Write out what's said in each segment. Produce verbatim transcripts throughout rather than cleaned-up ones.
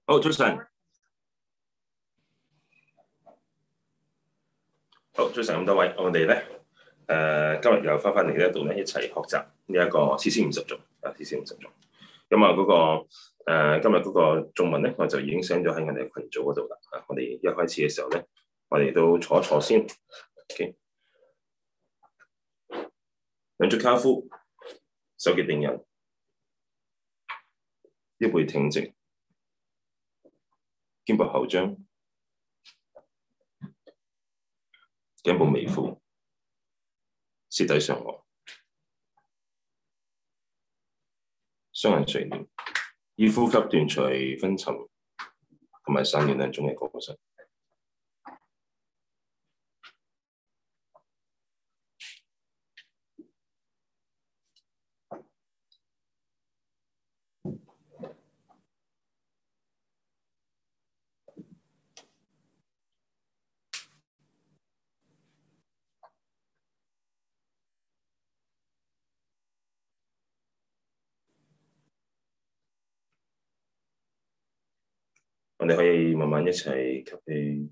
好，早晨。好，早晨咁多位，我哋咧誒今日又翻返嚟呢一度咧，一齊學習呢一個詩詩五十頌啊，詩詩五十頌。咁啊嗰個、呃、今日嗰個頌文咧，我就已經 send 咗喺我哋嘅群組嗰度啦。啊，我哋一開始嘅時候咧，我哋都坐一坐先。OK， 兩足跏趺，手結定印，腰背挺直，肩部後張，頸部微俯，舌抵上顎，雙眼垂簾，以呼吸斷除昏沉同埋散亂兩種嘅過失。我哋可以慢慢一齊吸氣，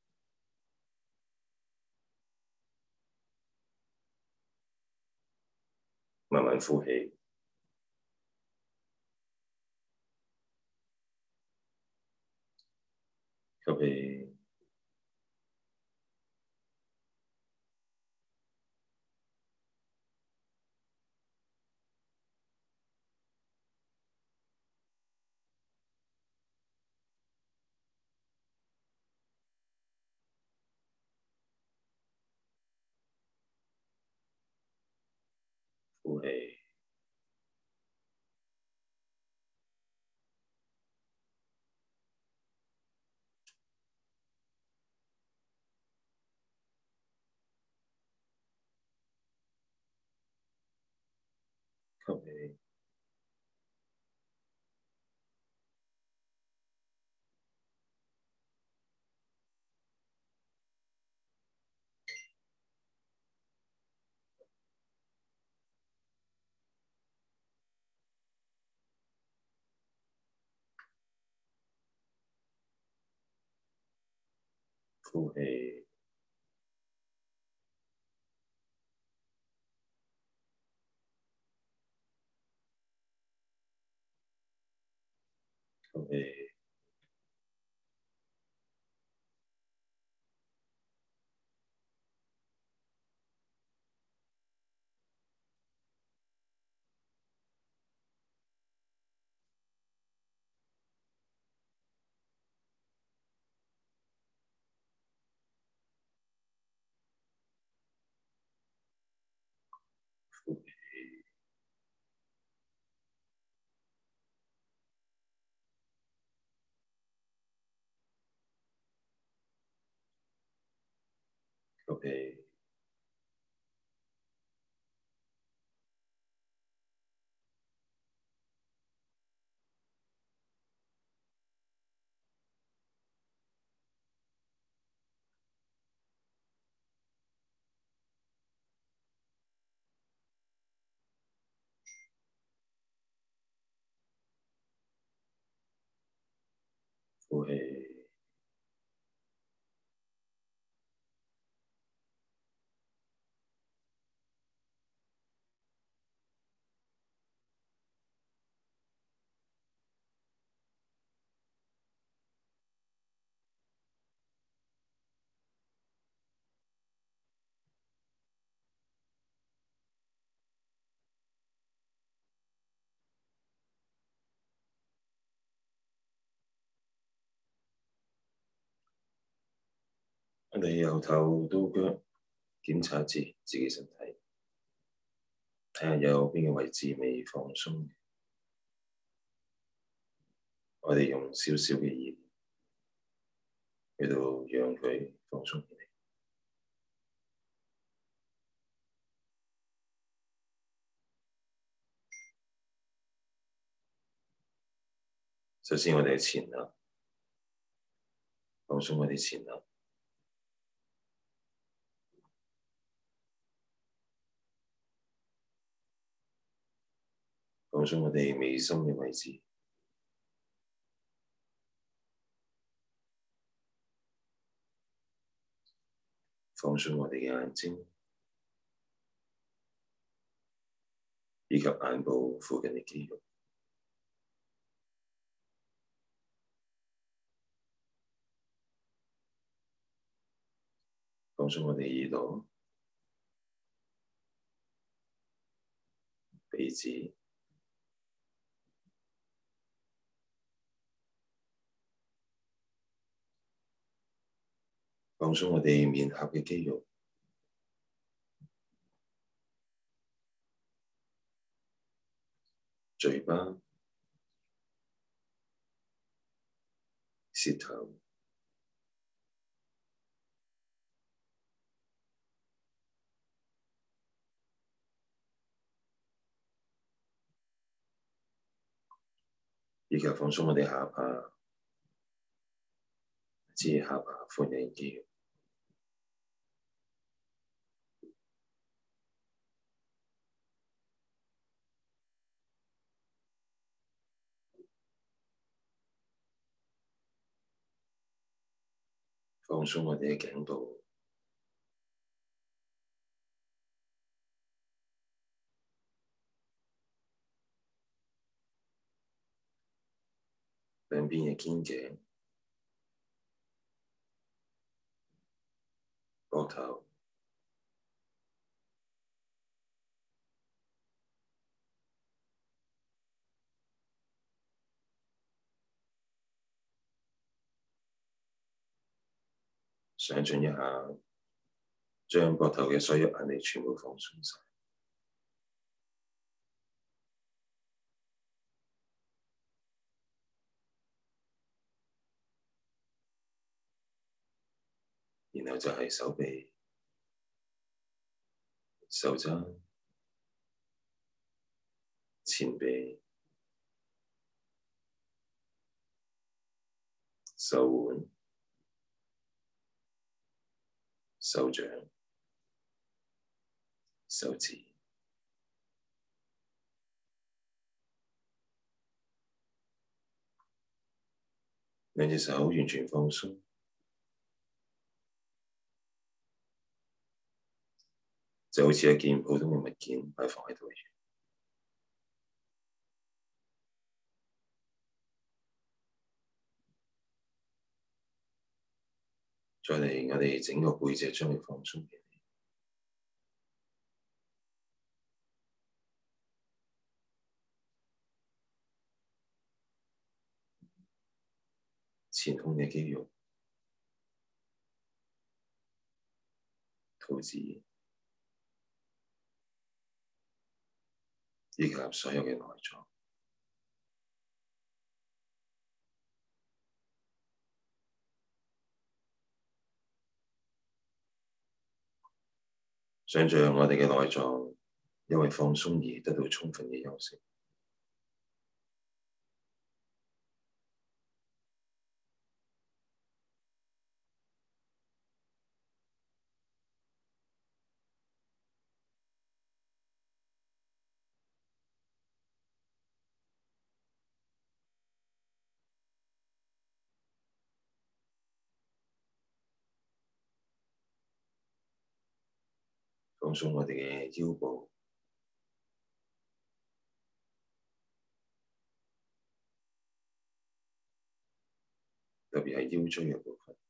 慢慢呼氣，吸氣，呼氣。吸氣，呼氣，呼氣，呼氣，呼氣，呼氣。我哋由頭到腳檢查一次自己身體，睇下有邊個位置未放鬆。我哋用少少嘅意念去到讓佢放鬆起嚟。首先，我哋嘅前額，放鬆我哋前額。放鬆我哋眉心嘅位置， 放鬆我哋嘅眼睛，以及眼部附近嘅肌肉。放鬆我哋耳朵、鼻子、放鬆我哋面頰嘅肌肉、嘴巴、舌頭、以及放鬆我哋下巴至下巴附近嘅肌肉。放鬆我哋嘅頸部、兩邊嘅肩頸、膊頭、想像一下，將膊頭嘅所有壓力全部放鬆晒，然後就係手臂、手踭、前臂、手腕、手掌、手指，兩隻手完全放鬆，就好似一件普通嘅物件擺放喺度一樣。再嚟，我哋整個背脊將佢放鬆嘅，前胸嘅肌肉、肚子，以及所有嘅內臟。想像我哋嘅內臟因為放鬆而得到充分嘅休息。放鬆我哋嘅腰部，特別係腰椎嘅部分。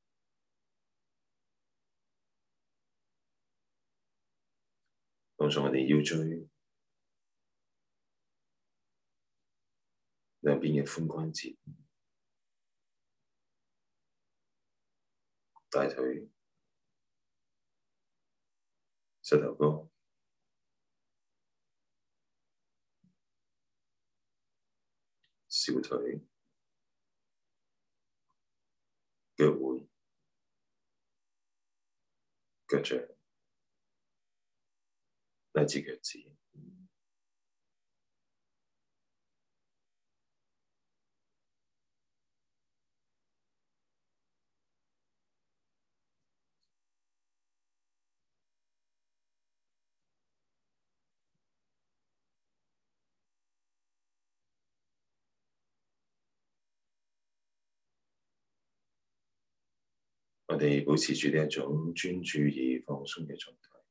放鬆我哋腰椎兩邊嘅髖關節、大腿、膝頭哥、小腿、腳腕、腳掌乃至腳趾。 我哋保持住呢一種專注而放鬆嘅狀態，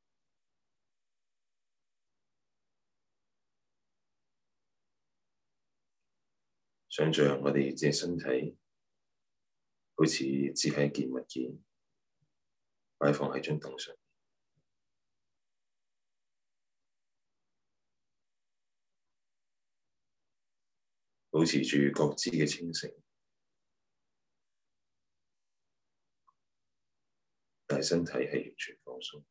想像我哋嘅身體好似只係一件物件，擺放喺張凳上，保持住覺知嘅清醒，但係身體係完全放鬆。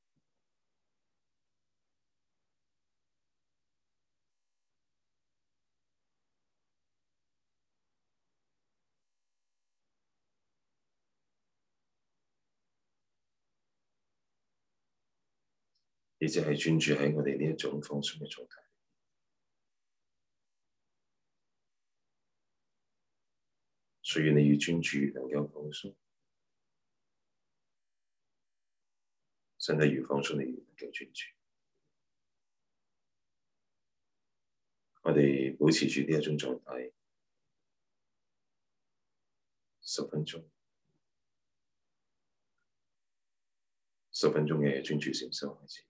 亦即係專注喺我哋呢一種放鬆嘅狀態。所以你要專注能夠放鬆，身體越放鬆，你越能夠專注。我哋保持住呢一種狀態十分鐘，十分鐘嘅專注禪修開始。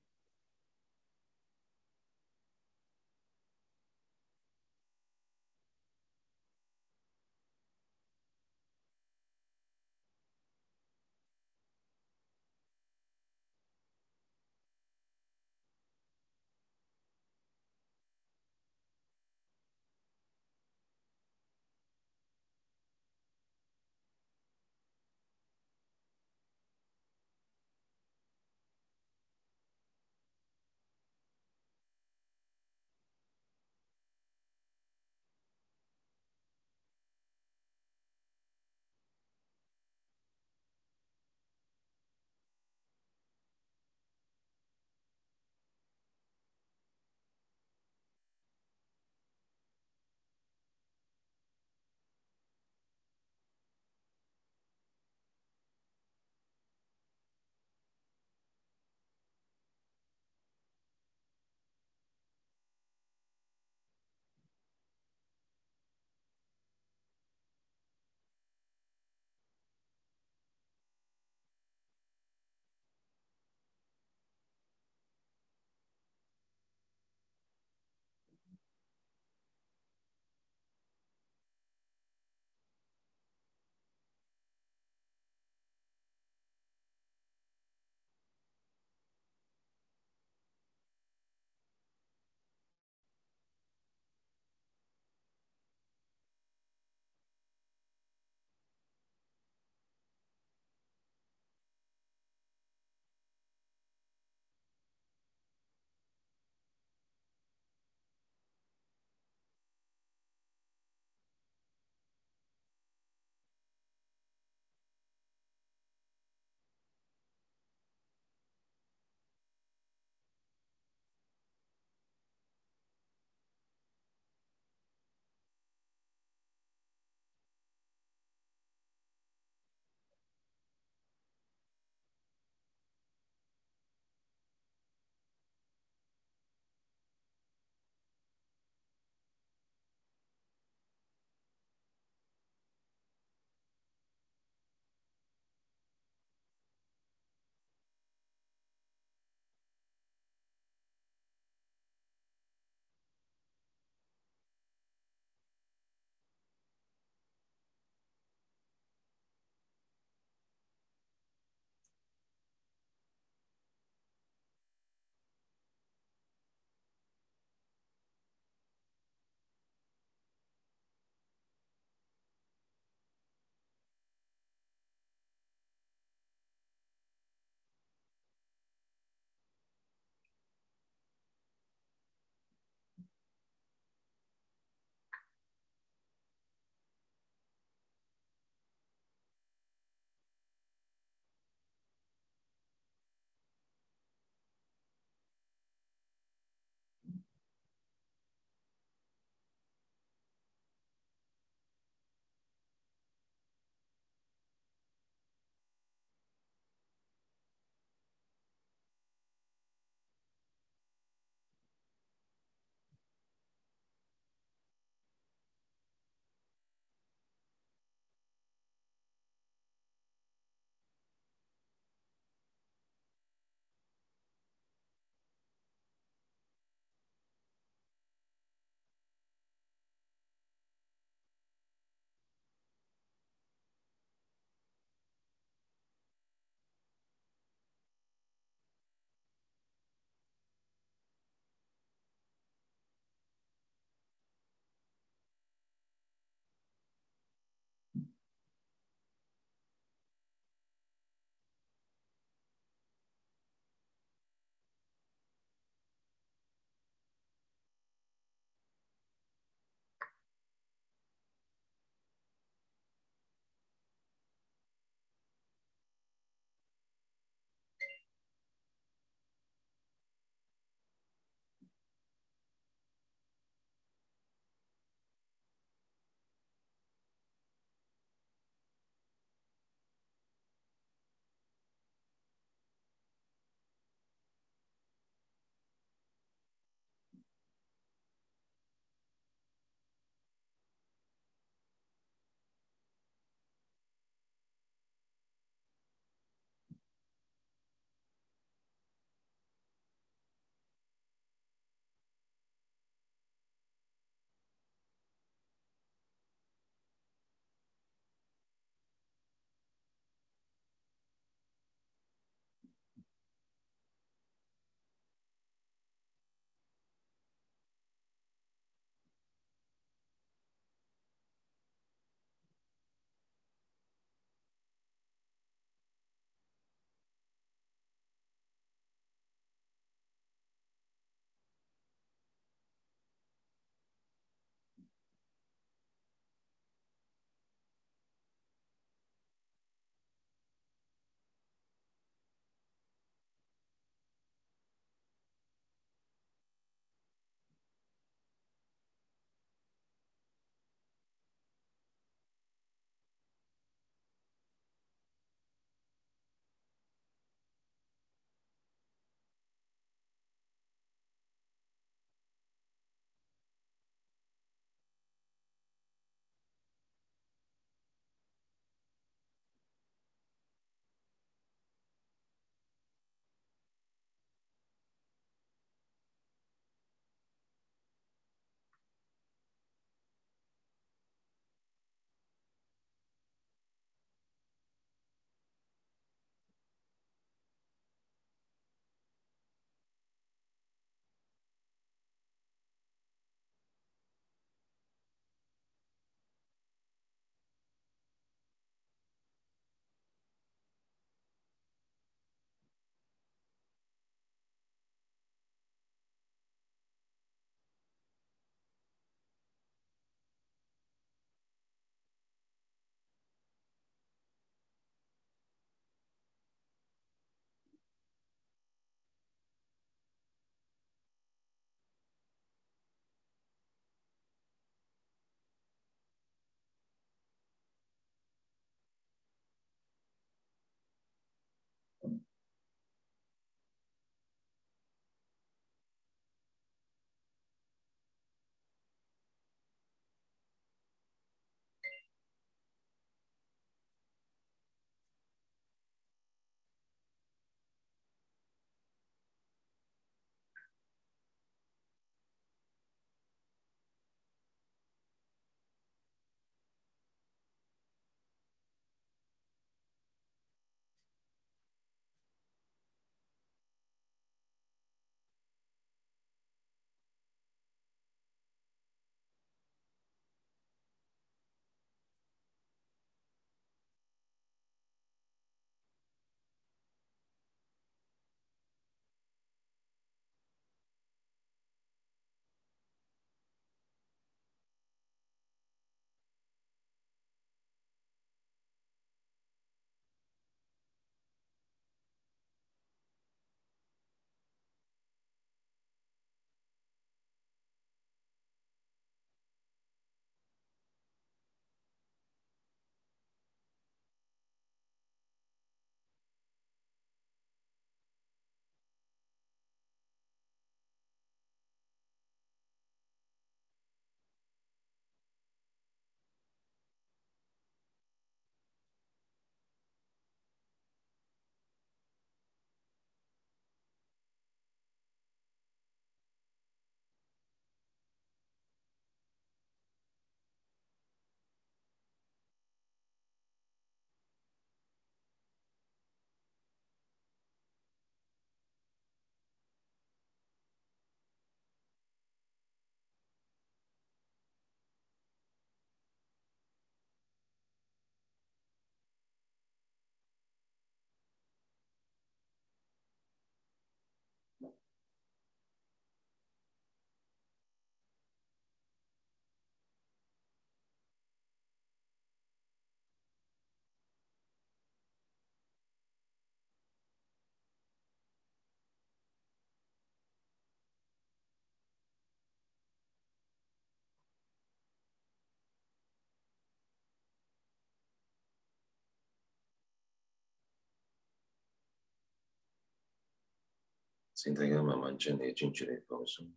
請大家慢慢將你嘅專注力放鬆，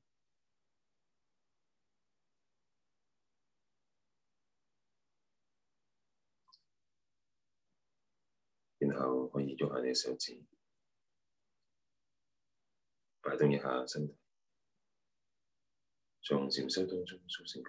然後可以喐下你嘅手指，擺動一下身體，從禪修當中甦醒。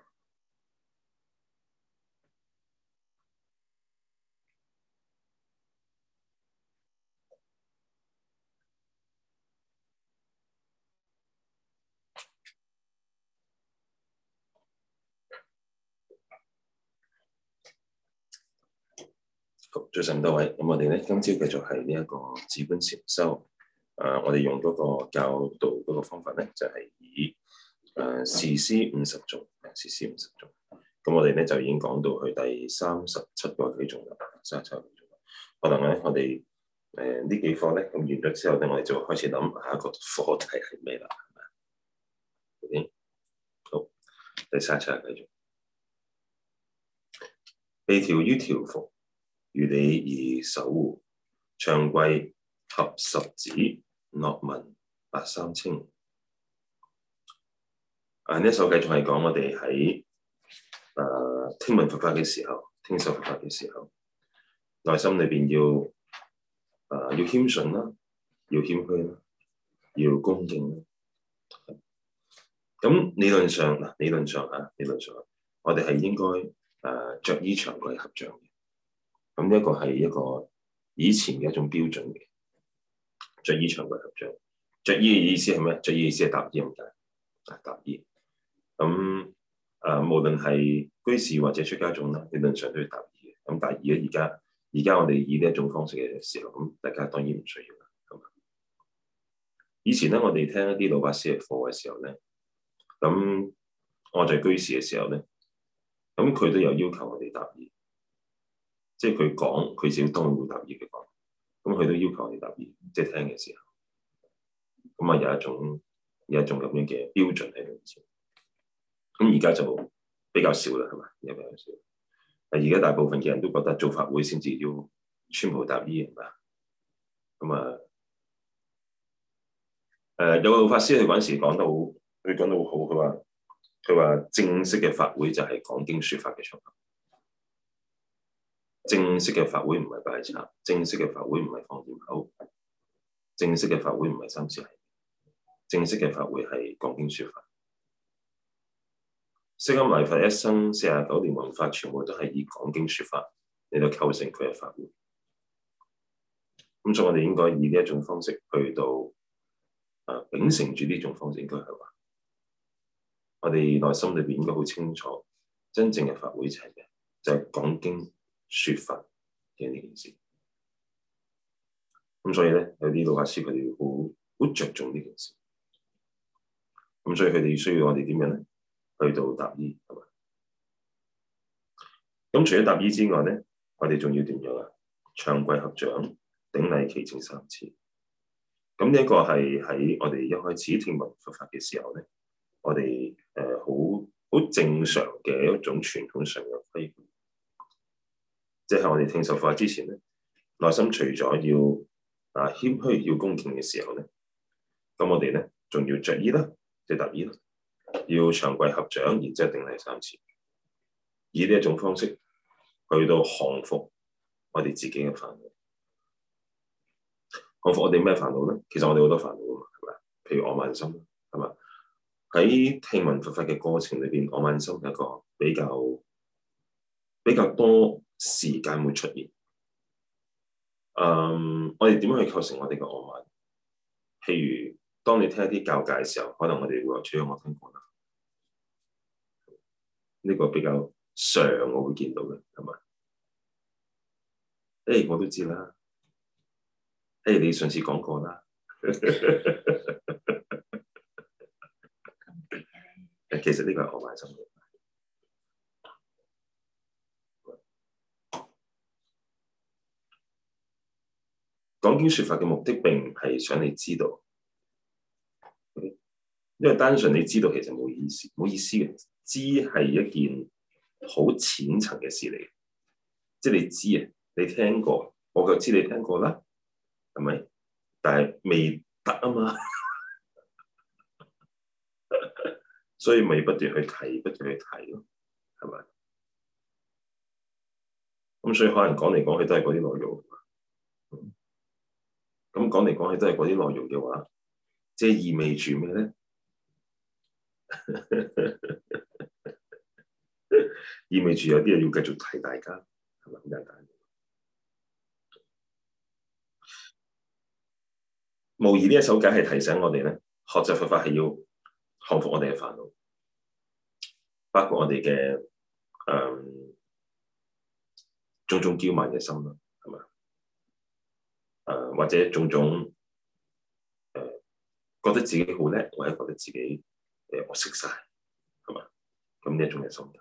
好，早晨多位，咁我哋咧今朝繼續係呢一個止觀禪修。誒、呃，我哋用嗰個教導嗰個方法咧，就係、是、以誒事師五十頌，事師五十頌。咁我哋咧就已經講到去第三十七個偈頌啦，三十七個偈頌。可能咧，我哋誒呢幾課咧，咁完咗之後咧，我哋就開始諗下一個課題係咩啦，係咪？OK，好，第三十七個偈頌，被調於調伏，如理而守護，長貴合十指，樂聞八三稱。啊！呢一首繼續係講我哋喺誒聽聞佛法嘅時候，聽受佛法嘅時候，內心裏邊要誒、呃、要謙遜啦，要謙虛啦，要恭敬啦。咁理論上嗱，理論上嚇，理論上，我哋係應該誒著衣長貴合掌嘅。咁呢一個係一個以前嘅一種標準嘅，着衣長貴合掌。着衣嘅意思係咩？着衣嘅意思係搭衣咁解，啊搭衣。咁誒、呃，無論係居士或者出家眾啦，理論上都要搭衣嘅。咁但係而家而家而家我哋以呢一種方式嘅時候，咁大家當然唔需要啦。咁以前咧，我哋聽一啲老法師嘅課嘅時候咧，咁我在居士嘅時候咧，咁佢都有要求我哋搭衣。即係佢講，佢自己當然會搭衣嘅講，咁佢都要求你搭衣，即係聽嘅時候，咁啊有一種有一種咁樣嘅標準喺度先。咁而家就比較少啦，係嘛？而家比較少。而家大部分嘅人都覺得做法會先至要穿袍搭衣，係嘛？咁啊，誒、呃、有個老法師佢嗰陣時講得好，佢講得好好，佢話佢話正式嘅法會就係講經説法嘅場合。正式嘅法會唔係拜懺，正式嘅法會唔係放焰口，正式嘅法會唔係三時係，正式嘅法會係講經説法。釋迦牟尼佛一生四十九年弘法，全部都係以講經説法嚟到構成佢嘅法會。咁所以我哋應該以呢一種方式去到啊秉承住呢種方式，應該係話，我哋內心裏邊應該好清楚，真正嘅法會就係咩？就係講經説法嘅呢件事，咁所以咧有啲老法師佢哋好好着重呢件事，咁所以佢哋需要我哋點樣咧？去到搭衣係嘛？咁除咗搭衣之外咧，我哋仲要點樣啊？長貴合掌，頂禮祈請三次。咁呢一個係喺我哋一開始聽聞佛法嘅時候咧，我哋誒好好正常嘅一種傳統上嘅規矩。即係我哋聽受佛法之前咧，內心除咗要啊謙虛要恭敬嘅時候咧，咁我哋咧仲要着衣啦，即係搭衣啦，要長貴合掌，然之後頂禮三次，以呢一種方式去到降伏我哋自己嘅煩惱。降服我哋咩煩惱咧？其實我哋好多煩惱啊嘛，係咪？譬如我慢心，係嘛？喺聽聞佛法嘅過程裏邊，我慢心係一個比較比較多時間會出現。嗯，我哋點樣去構成我哋嘅我慢？譬如當你聽一啲教誡嘅時候，可能我哋會話：除咗我聽過啦，呢、這個比較常我會見到嘅，係嘛？誒，我都知啦。誒，你上次講過啦。其實呢個係我慢心嘅。講經説法嘅目的並唔係想你知道，因為單純你知道其實冇意思，冇意思嘅。知係一件好淺層嘅事嚟，即係你知啊，你聽過，我就知你聽過啦，係咪？但係未得啊嘛， 所以咪不斷去提，不斷去提咯，係咪？咁所以可能講嚟講去都係嗰啲內容。咁講嚟講去都係嗰啲內容嘅話，即係意味住咩咧？意味住有啲嘢要繼續提大家，係咪咁簡單？無疑呢一首偈係提醒我哋咧，學習佛法係要降服我哋嘅煩惱，包括我哋嘅誒種種驕慢嘅心啦，係咪？誒、呃、或者種種誒、呃、覺得自己好叻，或者覺得自己誒、呃、我識晒，係嘛？咁呢一種嘅心態，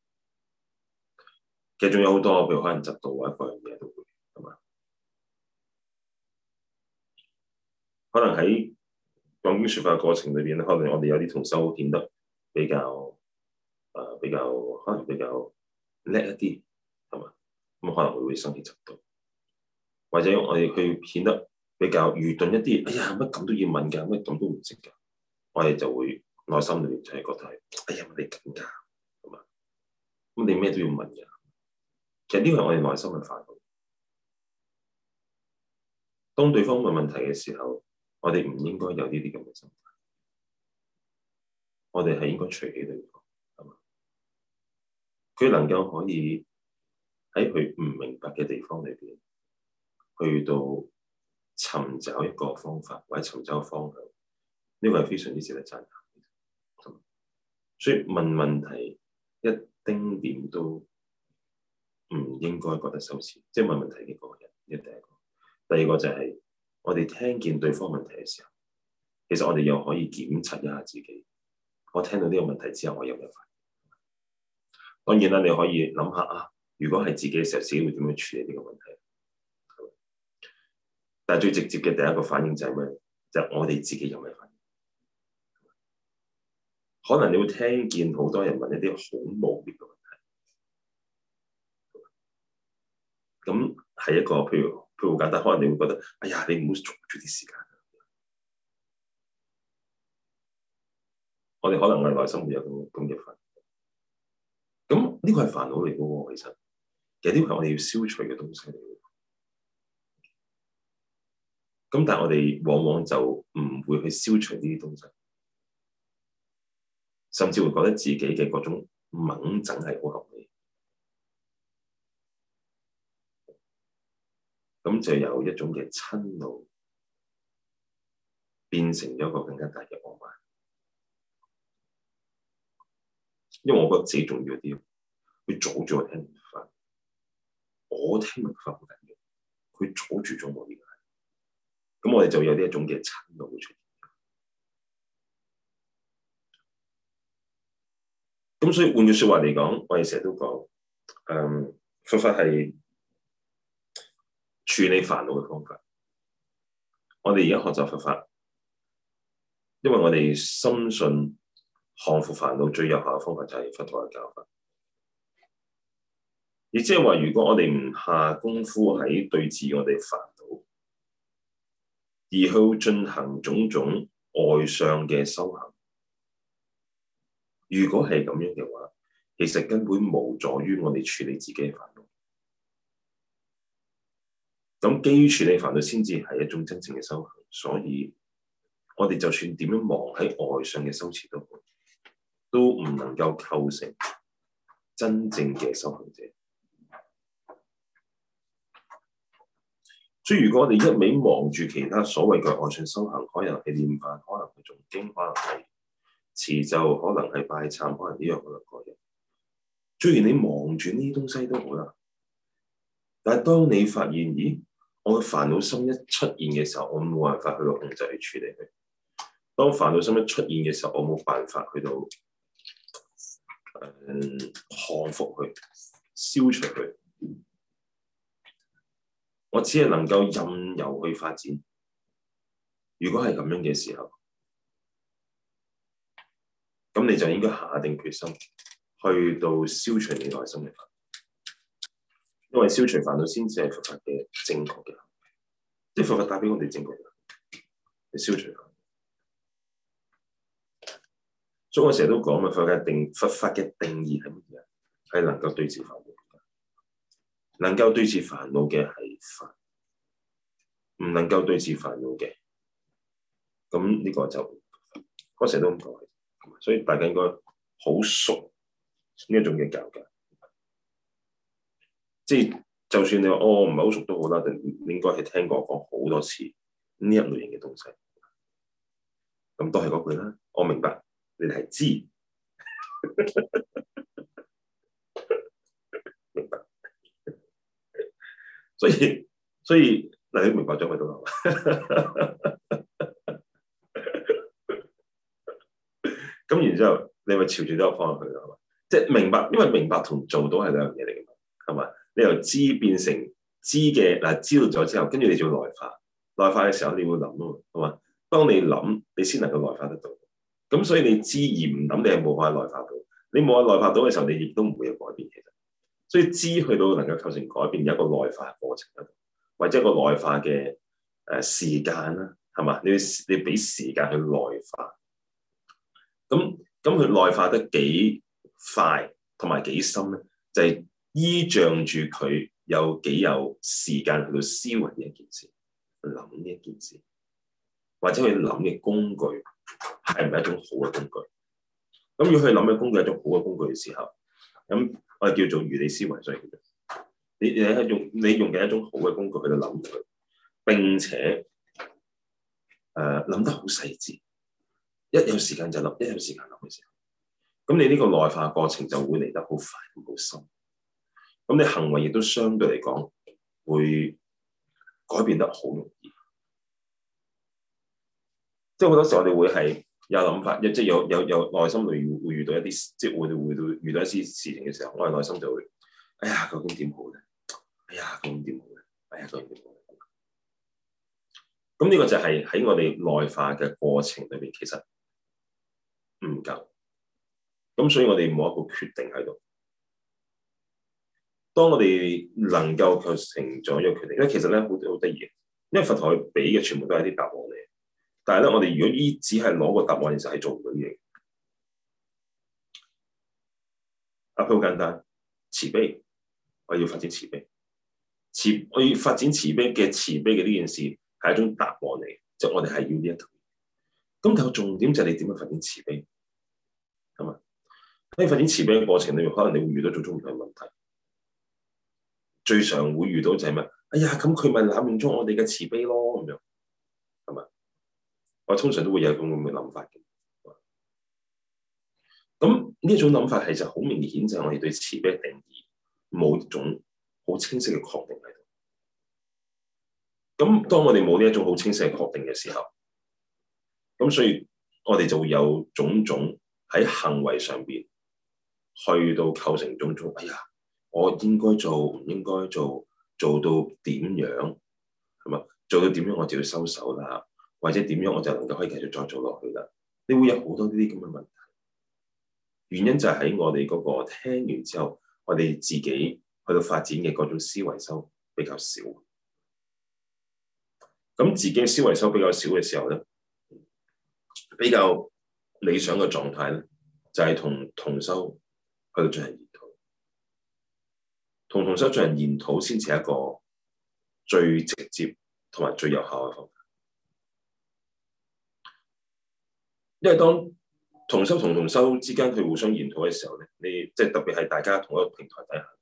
其實仲有好多，譬如可能嫉妒或者各樣嘢都會，係嘛？可能喺講經説法嘅過程裏邊咧，可能我哋有啲同修顯得比較誒、呃、比較可能比較叻一啲，係嘛？咁可能會會生起嫉妒，或者我哋去顯得比較愚鈍一啲。哎呀，乜咁都要問㗎，乜咁都唔識㗎，我哋就會內心裏邊就係覺得係，哎呀，乜你咁㗎，係嘛？咁你咩都要問㗎。其實呢個係我哋內心嘅煩惱。當對方問問題嘅時候，我哋唔應該有呢啲咁嘅心態，我哋係應該隨喜對方，係嘛？佢能夠可以喺佢唔明白嘅地方裏邊，去到尋找一個方法或者尋找個方向，呢個係非常之值得讚歎。所以問問題一丁點都唔應該覺得羞恥，即係問問題嘅嗰個人，呢第一個。第二個就係我哋聽見對方問題嘅時候，其實我哋又可以檢查一下自己。我聽到呢個問題之後，我有咩反應？當然啦，你可以諗下啊，如果係自己嘅時候，自己會點樣處理呢個問題？但係最直接嘅第一個反應就係咩？就係我哋自己有咩反應？可能你會聽見好多人問一啲好無聊嘅問題，咁係一個譬如譬如好簡單，可能你會覺得，哎呀，你唔好阻住啲時間。我哋可能我哋內心會有咁咁嘅煩惱，咁呢個係煩惱嚟嘅喎。其實其實呢個係我哋要消除嘅東西嚟嘅。咁但係我哋往往就唔會去消除呢啲東西，甚至會覺得自己嘅嗰種猛整係好合理。咁就有一種嘅瞋怒，變成咗一個更加大嘅傲慢。因為我覺得自己重要啲，佢阻住我聽佛法，我聽佛法好緊要，佢阻住咗我呢個，咁我哋就有呢一種嘅瞋怒會出現。咁所以換句説話嚟講，我哋成日都講，誒，佛法係處理煩惱嘅方法。我哋而家學習佛法，因為我哋深信降服煩惱最有效嘅方法就係佛陀嘅教法。亦即係話，如果我哋唔下功夫喺對治我哋煩惱，而去進行種種外相嘅修行，如果係咁樣嘅話，其實根本無助於我哋處理自己嘅煩惱。咁基於處理煩惱先至係一種真正嘅修行，所以我哋就算點樣忙喺外相嘅修持都好，都唔能夠構成真正嘅修行者。所以如果我哋一味忙住其他所謂嘅外相修行，可能係念法，可能係誦經，可能係持咒，可能係拜懺，可能呢樣可能嗰樣。雖然你忙住呢啲東西都好啦，但係當你發現，咦，我嘅煩惱心一出現嘅時候，我冇辦法去到控制去處理佢。當煩惱心一出現嘅時候，我冇辦法去到誒降服佢、消除佢。我只係能夠任由去發展。如果係咁樣嘅時候，咁你就應該下定決心去到消除你內心嘅煩惱，因為消除煩惱先至係佛法嘅正確嘅行為，即係佛法帶俾我哋正確嘅行為，去消除煩惱。 所以我成日都講嘛，佛嘅定佛法嘅定義係乜嘢？係能夠對治煩惱，能夠對治煩惱嘅係法，唔能夠對治煩惱嘅，咁呢個就我成日都咁講，所以大家應該好熟呢一種嘅教教，即係就算你話哦唔係好熟都好啦，你應該係聽過我講好多次呢一類型嘅東西，咁都係嗰句啦，我明白你哋係知。明白，所以所以嗱，你明白咗咪得啦？咁然之後，你咪朝住呢個方向去啦，係嘛？即係明白，因為明白同做到係兩樣嘢嚟嘅嘛，係嘛？你由知變成知嘅嗱，知道咗之後，跟住你就要內化，內化嘅時候你會諗啊嘛，係嘛？當你諗，你先能夠內化得到。咁所以你知而唔諗，你係冇法內化到。你冇法內化到嘅時候，你亦都唔會有改變。其實，所以知去到能夠構成改變，有一個內化過程喺度，或者一個內化嘅誒時間啦，係嘛？你你俾時間去內化。咁咁佢內化得幾快同埋幾深咧？就係、是、依仗住佢有幾有時間去到思維呢一件事，諗呢一件事，或者佢諗嘅工具係唔係一種好嘅工具？咁如果佢諗嘅工具係一種好嘅工具嘅時候，咁我哋叫做如理思維，所以叫做你你係用你用嘅一種好嘅工具去到諗佢，並且誒諗、呃、得好細緻。一有時間就諗，一有時間諗嘅時候，咁你呢個內化過程就會嚟得好快、好深。咁你行為亦都相對嚟講會改變得好容易。即係好多時候我哋會係有諗法，即係有有有內心裏會遇到一啲，即係會會到遇到一啲事情嘅時候，我哋內心就會，哎呀，究竟點好咧？哎呀，究竟點好咧？哎呀，究竟點好咧？咁呢個就係喺我哋內化嘅過程裏邊，其實唔夠，咁所以我哋冇一個決定喺度。當我哋能夠構成咗一個決定，因為其實咧好好得意嘅，因為佛陀佢俾嘅全部都係啲答案嚟，但係咧我哋如果依只係攞個答案，其實係做唔到嘢。啊，好簡單，慈悲，我要發展慈悲，慈我要發展慈悲嘅慈悲嘅呢件事係一種答案嚟，即係我哋係要呢一套。咁但係重點就係你點樣發展慈悲，係嘛？喺發展慈悲嘅過程裏面，可能你會遇到種種唔同嘅問題。最常會遇到就係咩？哎呀，咁佢咪濫用咗我哋嘅慈悲咯，咁樣係嘛？我通常都會有咁咁嘅諗法嘅。咁呢一種諗法係就好明顯，就係我哋對慈悲嘅定義冇一種好清晰嘅確定喺度。咁當我哋冇呢一種好清晰嘅確定嘅時候，咁所以我哋就會有種種喺行為上邊去到構成種種。哎呀，我應該做唔應該做，做到點樣係嘛？做到點樣我就要收手啦，或者點樣我就能夠可以繼續再做落去啦。你會有好多呢啲咁嘅問題，原因就係喺我哋嗰個聽完之後，我哋自己去到發展嘅嗰種思維修比較少。咁自己嘅思維修比較少嘅時候咧，比較理想嘅狀態咧，就係同同修去到進行研討，同同修進行研討先至係一個最直接同埋最有效嘅方法。因為當同修同同修之間佢互相研討嘅時候咧，你即係特別係大家同一個平台底下，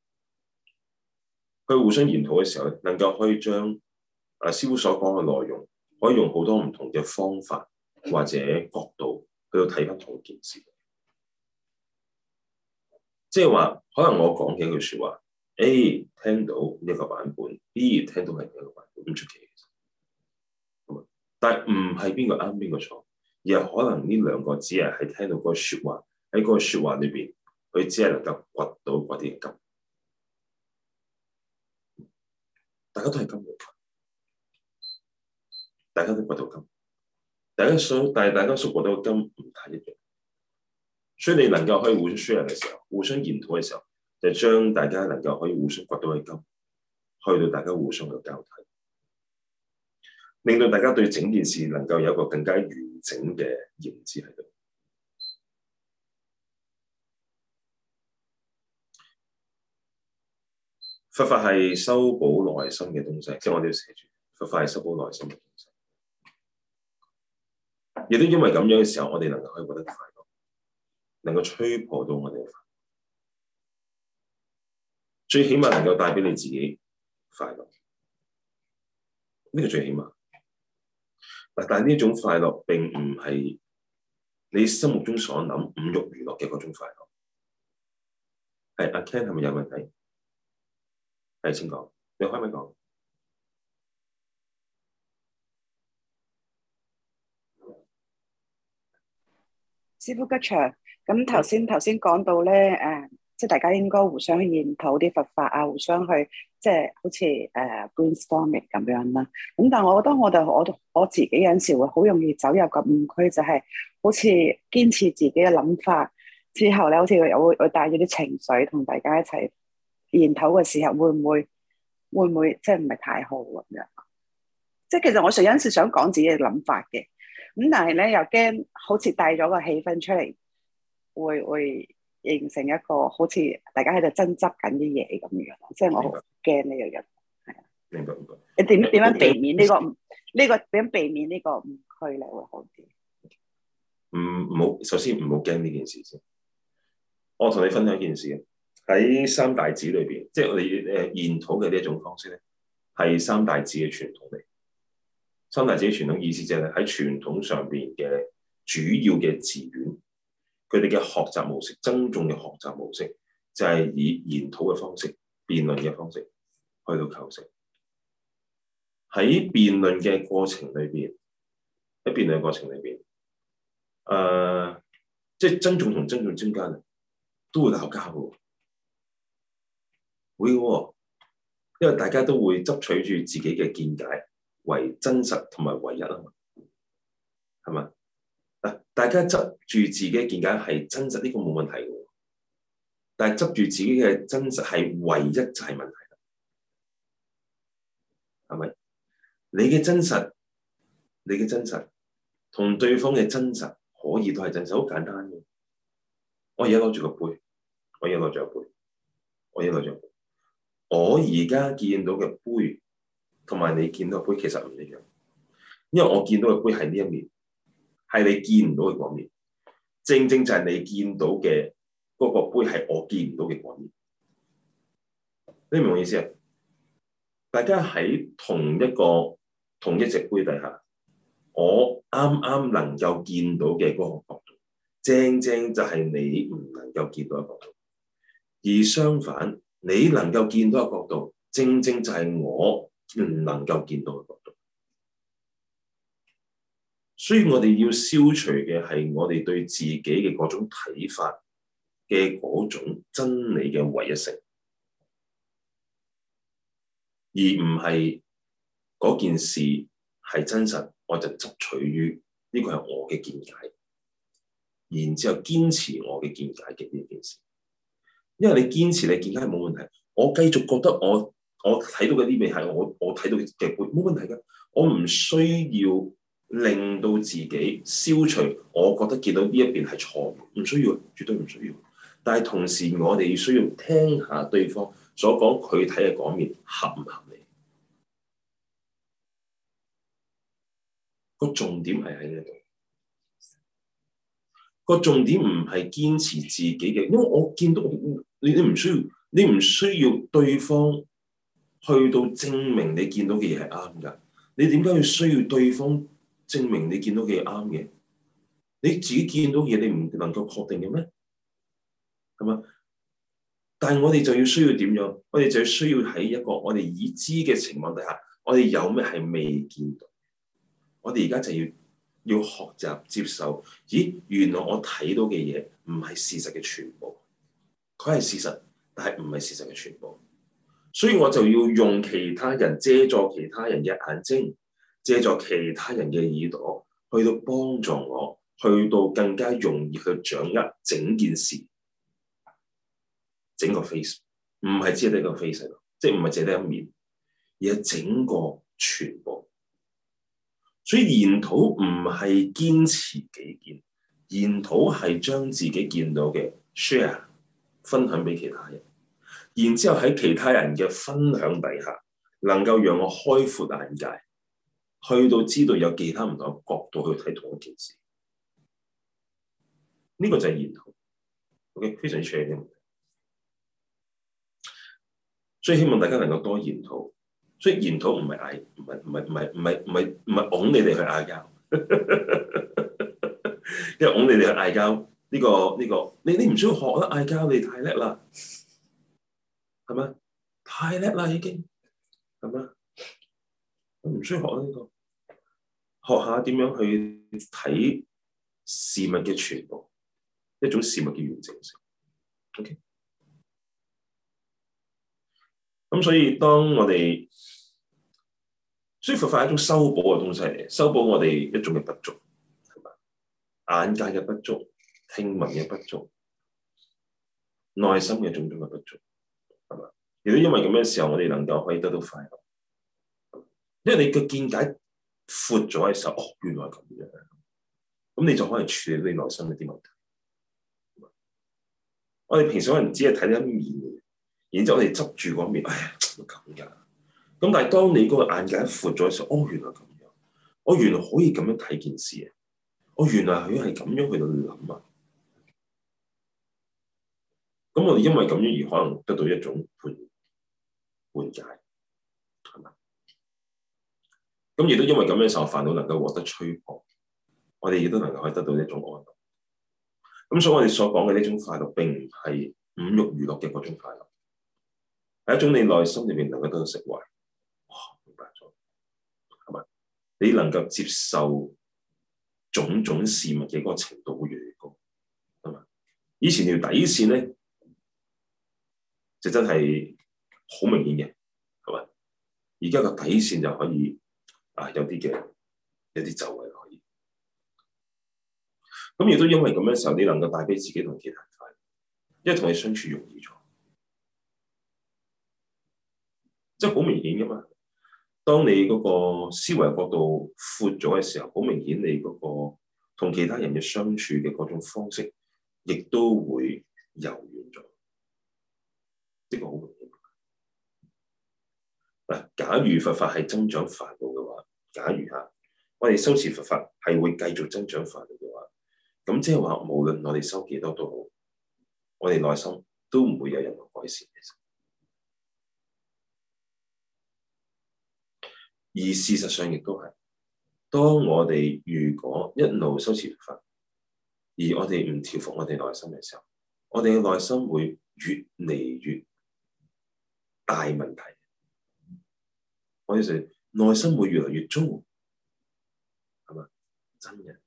佢互相研討嘅時候咧，能夠可以將啊師父所講嘅內容，可以用好多唔同嘅方法或者角度去到睇翻同一件事。即係話，可能我講嘅一句説話 A 聽到一個版本 ，B 聽到係另一個版本，唔出奇嘅。但係唔係邊個啱邊個錯，而係可能呢兩個只係喺聽到嗰個説話，喺嗰個説話裏邊，佢只係能夠掘到嗰啲金。大家都係金嘅，大家都掘到金，大家所但係大家所掘到嘅金唔太一樣。所以你能夠可以互相 share 嘅時候，互相研討嘅時候，就將大家能夠可以互相掘到嘅金，去到大家互相嘅交替，令到大家對整件事能夠有一個更加完整嘅認知喺度。 佛法係修補內心嘅東西，即係我哋要寫住，佛法係修補內心嘅東西。亦都因為咁樣嘅時候，我哋能夠可以獲得快樂，能夠吹破到我哋嘅快樂，最起碼能夠帶俾你自己快樂，呢個最起碼。但係呢種快樂並唔係你心目中所諗五欲娛樂嘅嗰種快樂。係阿 Ken 係咪有問題？係，請講，你可唔可以講？ 師父吉祥，咁頭先頭先講到咧，誒、呃，即係大家應該互相去研討啲佛法啊，互相去即係好似誒、呃、brainstorming 咁樣啦。咁但係我覺得我哋我我自己有陣時會好容易走入個誤區，就係、是、好似堅持自己嘅諗法之後咧，好似又會會帶咗啲情緒同大家一齊研討嘅時候，會唔會會唔會即係唔係太好咁樣？即係其實我有陣時想講自己嘅諗法嘅。咁但係咧又驚好似帶咗個氣氛出嚟，會會形成一個好似大家喺度爭執緊啲嘢咁樣，即係我好驚呢樣嘢。係啊， 明白明白。 你點點樣避免呢個呢個點樣避免呢個誤區咧會好啲？ 唔唔好，首先唔好驚呢件事先。我同你分享一件事，喺三大寺裏邊，即係我哋誒研討嘅呢一種方式咧，係三大寺嘅傳統嚟。三大寺傳統意思就係喺傳統上邊嘅主要嘅寺院，佢哋嘅學習模式、僧眾嘅學習模式，就係以研討嘅方式、辯論嘅方式去到構成。喺辯論嘅過程裏邊，喺辯論嘅過程裏邊，誒、呃，即係僧眾同僧眾之間都會鬧交嘅，會嘅，因為大家都會執取住自己嘅見解為真實同埋唯一啊嘛，係嘛？嗱，大家執住自己嘅見解係真實，呢個冇問題嘅。但係執住自己嘅真實係唯一就係問題啦，係咪？你嘅真實，你嘅真實同對方嘅真實可以都係真實，好簡單嘅。我而家攞住個杯，我而家攞住個杯，我而家攞住個杯，我而家見到嘅杯。同埋你見到嘅杯其實唔一樣，因為我見到嘅杯係呢一面，係你見唔到嘅嗰面，正正就係你見到嘅嗰個杯係我見唔到嘅嗰面。你明唔明我意思啊？大家喺同一個同一隻杯底下，我啱啱能夠見到嘅嗰個角度，正正就係你唔能夠見到嘅角度。而相反，你能夠見到嘅角度，正正就係我唔能夠見到嘅角度，所以我哋要消除嘅係我哋對自己嘅嗰種睇法嘅嗰種真理嘅唯一性，而唔係嗰件事係真實，我就執取於呢個係我嘅見解，然之後堅持我嘅見解嘅呢件事。因為你堅持你見解係冇問題，我繼續覺得我。我睇到嘅呢邊係我我睇到嘅杯，冇問題㗎。我唔需要令到自己消除，我覺得見到呢一邊係錯，唔需要，絕對唔需要。但係同時，我哋需要聽下對方所講，佢睇嘅嗰面合唔合理？個重點係喺呢度。個重點唔係堅持自己嘅，因為我見到你，你唔需要，你唔需要對方。去到證明你見到嘅嘢係啱㗎，你點解要需要對方證明你見到嘅嘢啱嘅？你自己見到嘢，你唔能夠確定嘅咩？係嘛？但係我哋就要需要點樣？我哋就要需要喺一個我哋已知嘅情況底下，我哋有咩係未見到？我哋而家就要要學習接受。咦，原來我睇到嘅嘢唔係事實嘅全部，佢係事實，但係唔係事實嘅全部。所以我就要用其他人，借助其他人嘅眼睛，借助其他人嘅耳朵，去到幫助我，去到更加容易去掌握整件事，整個 face， 唔係只係得一個 face， 即係唔係只係得一面，而係整個全部。所以研討唔係堅持己見，研討係將自己見到嘅 share 分享俾其他人。 然之後喺其他人嘅分享底下，能夠讓我開闊眼界，去到知道有其他唔同嘅角度去睇同一件事。呢、這個就係研討。OK， 非常之重要。所以希望大家能夠多研討。所以研討唔係嗌，唔係唔係唔係唔係唔係唔係拱你哋去嗌交，因為拱你哋去嗌交呢個呢、這個，你你唔需要學啦，嗌交你太叻啦，係咪？太叻啦已經，係咪？唔需要學啦呢、這個，學下點樣去睇事物嘅全部，一種事物嘅完整性。OK。咁所以當我哋，所以佛法係一種修補嘅東西嚟，修補我哋一種嘅不足，係嘛？眼界嘅不足，聽聞嘅不足，內心嘅種種嘅不足，係嘛？亦都因為咁嘅時候，我哋能夠可以得到快樂，因為你嘅見解闊咗嘅時候，哦，原來係咁樣，咁你就可以處理你內心嘅啲問題。我哋平時可能只係睇一面嘅，然之後我哋執住嗰面，哎呀，咁㗎。咁但係當你嗰個眼界闊咗嘅時候，哦，原來咁樣，我原來可以咁樣睇件事啊，我原來佢係咁樣去到諗啊。咁我哋因為咁樣而可能得到一種緩緩解，係嘛？咁亦都因為咁樣嘅時候，煩惱能夠獲得吹破，我哋亦都能夠可以得到一種安樂。咁所以我哋所講嘅呢種快樂並唔係五欲娛樂嘅嗰種快樂，係一種你內心裏面能夠得到釋懷。哇，明白咗，係咪？你能夠接受種種事物嘅嗰個程度會越嚟越高，係嘛？以前條底線咧就真係好明顯嘅，係嘛？而家個底線就可以啊有啲嘅有啲走位可以。咁亦都因為咁嘅時候，你能夠帶俾自己同其他人快樂，因為同你相處容易咗，即係好明顯噶嘛。當你嗰個思維角度闊咗嘅時候，好明顯你嗰個同其他人嘅相處嘅嗰種方式，亦都會柔軟咗。呢個好明顯。嗱，假如佛法係增長煩惱嘅話，假如嚇我哋修持佛法係會繼續增長煩惱嘅話，咁即係話，無論我哋修幾多都好，我哋內心都唔會有任何改善。而事實上亦都係，當我哋如果一路修持佛法，而我哋唔調伏我哋內心嘅時候，我哋嘅內心會越嚟越大問題。我哋就內心會越嚟越糟，係嘛？真嘅。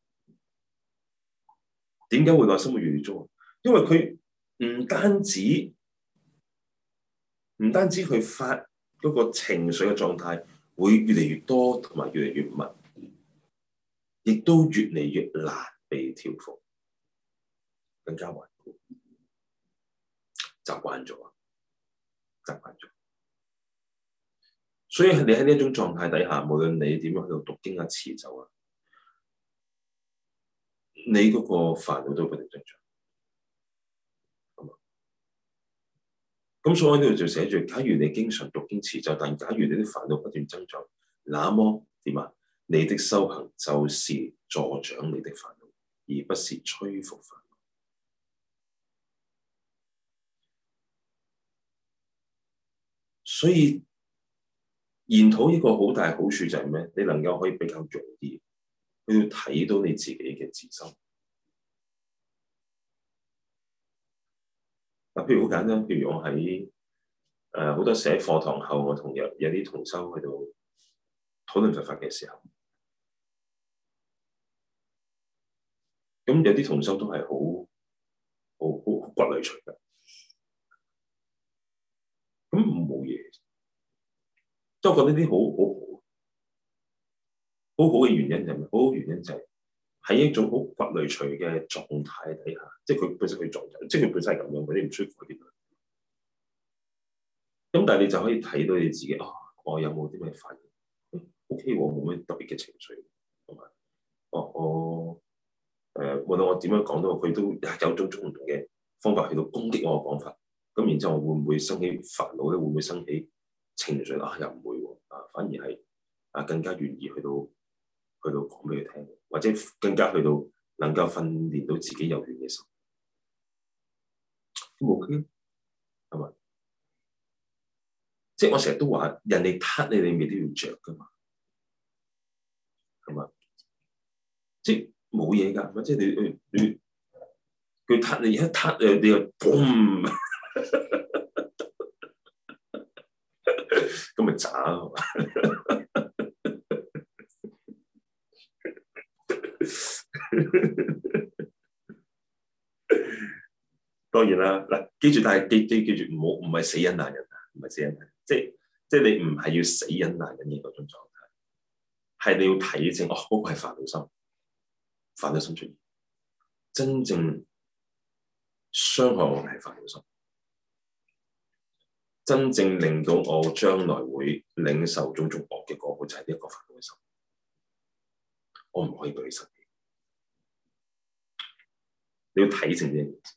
點解會內心會越嚟越糟？因為佢唔單止唔單止佢發嗰個情緒嘅狀態會越嚟越多，同埋越嚟越密，亦都越嚟越難被調伏，更加頑固，習慣咗，習慣咗。所以你喺呢一種狀態底下，無論你點樣喺度讀經啊、持咒啊，你嗰個煩惱都不斷增長。咁所以呢度就寫住：假如你經常讀經持咒，但假如你啲煩惱不斷增長，那麼點啊？你的修行就是助長你的煩惱，而不是摧伏煩惱。所以研討一個好大好處就係咩？你能夠可以比較容易去睇到你自己嘅自心。嗱，譬如好簡單，譬如我喺誒好多時喺課堂後，我同有有啲同修去到討論佛法嘅時候，咁有啲同修都係好好好好骨裡隨嘅，咁冇嘢，即係我覺得呢啲好好好好好嘅原因就係咩？好好原因就係喺一種好骨裡隨嘅狀態底下，即係佢本身佢狀態，即係佢本身係咁樣，佢哋唔需要改變佢。咁但係你就可以睇到你自己啊，我有冇啲咩反應 ？O K，我冇咩特別嘅情緒，同埋，哦，我誒、呃，無論我點樣講都好，佢都有種種唔同嘅方法去到攻擊我嘅講法。 咁然之後會唔會生起煩惱咧？會唔會生起情緒啊？又唔會喎，啊反而係啊更加願意去到去到講俾佢聽，或者更加去到能夠訓練到自己柔軟嘅心，都冇嘅，係咪？即係我成日都話，人哋撻你，你未都要着噶嘛，係嘛？即係冇嘢㗎，即係你你你佢撻你一撻誒，你又嘣，咁咪渣係嘛？當然啦，嗱，記住，但係記記記住，唔好唔係死忍難忍啊，唔係死忍難，即係即係你唔係要死忍難忍嘅嗰種狀態，係你要睇清，哦，嗰個係煩惱心，煩惱心出現，真正傷害我嘅係煩惱心，真正令到我將來會領受種種惡嘅果報就係呢一個煩惱嘅心，我唔可以對佢生氣，你要睇清呢件事。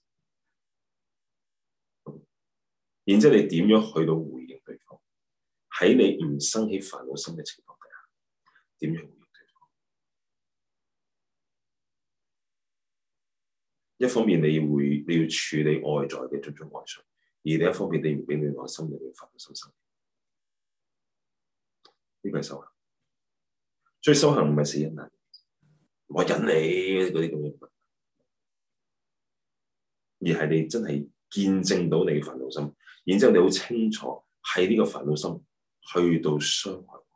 然之後你點樣去到回應對方？喺你唔生起煩惱心嘅情況底下，點樣回應對方？一方面你會你要處理外在嘅種種外傷，而另一方面你唔俾你內心裏面煩惱心生起，呢個係修行。所以修行唔係死忍難，我忍你嗰啲咁嘅，而係你真係見證到你嘅煩惱心。然之後你好清楚係呢個煩惱心去到傷害我，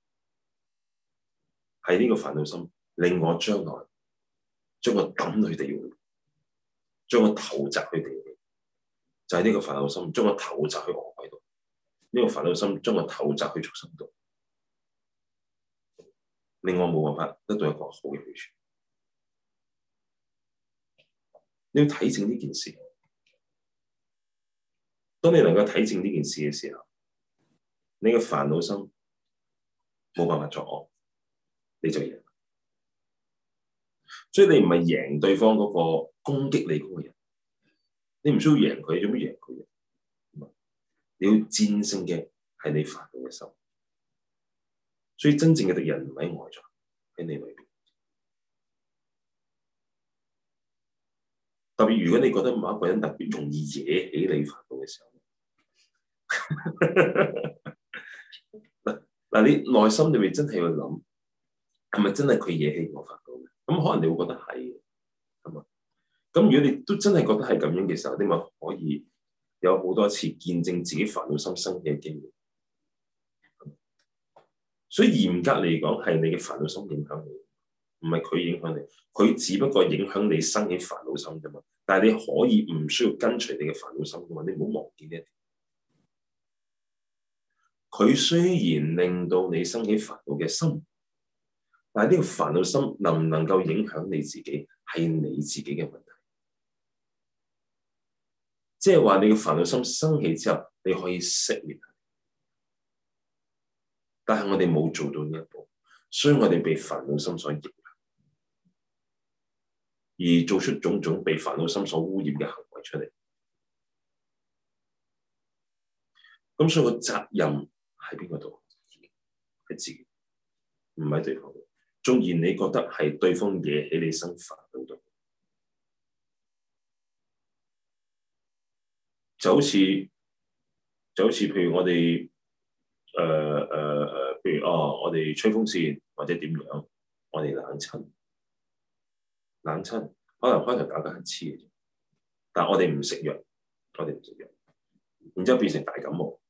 係呢個煩惱心令我將來將我抌去地獄，將我投擲去地獄，就係、是、呢個煩惱心將我投擲去惡鬼度，呢、這個煩惱心將我投擲去畜生度，令我冇辦法得到一個好嘅去處。你要睇清呢件事。當你能夠睇清呢件事嘅時候，你嘅煩惱心冇辦法作惡，你就贏。所以你唔係贏對方嗰個攻擊你嗰個人，你唔需要贏佢，做咩贏佢？你要戰勝嘅係你煩惱嘅心。所以真正嘅敵人唔喺外在，喺你裏邊。特別如果你覺得某一個人特別容易惹起你煩惱嘅時候，嗱嗱，你內心裏面真係要諗，係咪真係佢惹起我煩惱嘅？咁可能你會覺得係，係嘛？咁如果你都真係覺得係咁樣嘅時候，你咪可以有好多次見證自己煩惱心生起嘅機會。所以嚴格嚟講，係你嘅煩惱心影響你，唔係佢影響你。佢只不過影響你生起煩惱心啫嘛。但係你可以唔需要跟隨你嘅煩惱心噶嘛。你唔好忘記呢一點。佢雖然令到你生起煩惱嘅心，但係呢個煩惱心能唔能夠影響你自己，係你自己嘅問題。即係話你嘅煩惱心生起之後，你可以熄滅。但係我哋冇做到呢一步，所以我哋被煩惱心所影響，而做出種種被煩惱心所污染嘅行為出嚟。咁所以個責任喺邊個度？係自己，唔係對方。縱然你覺得係對方惹起你生煩惱度，就好似就好似譬如我哋誒誒誒，譬如哦，我哋吹風扇或者點樣，我哋冷親，冷親，可能開頭打緊乞嗤嘅啫，但係我哋唔食藥，我哋唔食藥，然之後變成大感冒，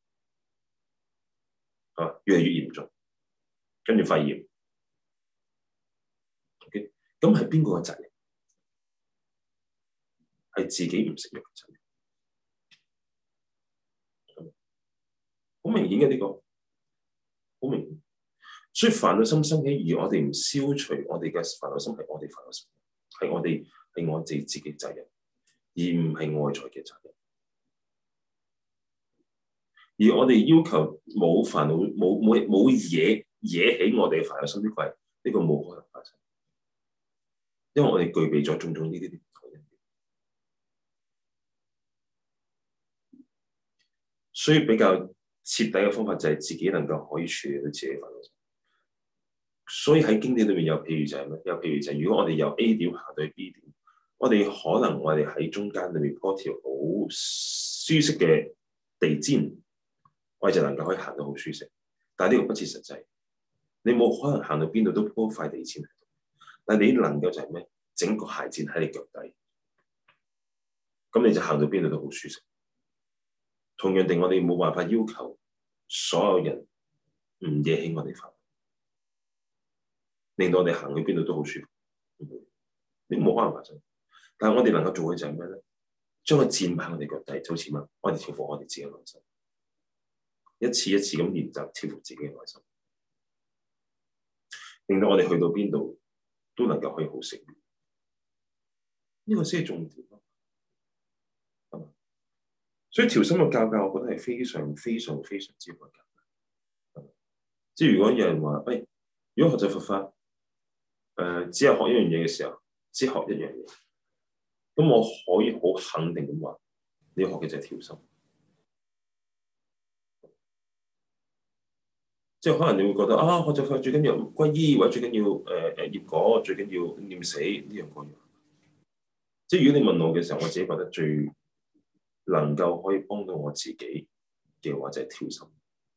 啊，越嚟越嚴重，跟住肺炎。OK，咁係邊個嘅責任？係自己唔食藥嘅責任。好明顯嘅呢個，好明顯。所以煩惱心生起，而我哋唔消除我哋嘅煩惱心，係我哋煩惱心，係我哋係我哋自己責任，而唔係外在嘅責任。而我哋要求冇煩惱，冇冇冇嘢惹起我哋嘅煩惱心，呢個係呢個冇可能發生，因為我哋具備咗種種呢啲啲。 所以比較徹底嘅方法就係自己能夠可以處理到自己煩惱。所以喺經典裏面有譬如就係咩？有譬如就係如果我哋由 A 點行到去 B 點，我哋可能我哋喺中間裏面鋪條好舒適嘅地氈，我哋就能夠可以行到好舒適。但係呢個不切實際，你冇可能行到邊度都鋪塊地氈喺度。但係你能夠就係咩？整個鞋墊喺你腳底，咁你就行到邊度都好舒適。同樣地，我哋冇辦法要求所有人唔惹起我哋煩惱，令到我哋行去邊度都好舒服。你冇可能發生。但係我哋能夠做嘅就係咩咧？將個墊擺喺我哋腳底，就好似乜？我哋調伏我哋自己嘅內心，一次一次咁練習調伏自己嘅內心，令到我哋去到邊度都能夠可以好適應。呢個先係重點咯。所以調心嘅教教，我覺得係非常非常非常之關鍵。即係如果有人話，喂、哎，如果學習佛法，誒、呃，只係學一樣嘢嘅時候，只學一樣嘢，咁我可以好肯定咁話，你要學嘅就係調心。即係可能你會覺得啊，學習佛法最緊要皈依，或者最緊要誒誒、呃、業果，最緊要念死呢樣嗰樣。即係如果你問我嘅時候，我自己覺得最能夠可以幫到我自己嘅話，就係調心。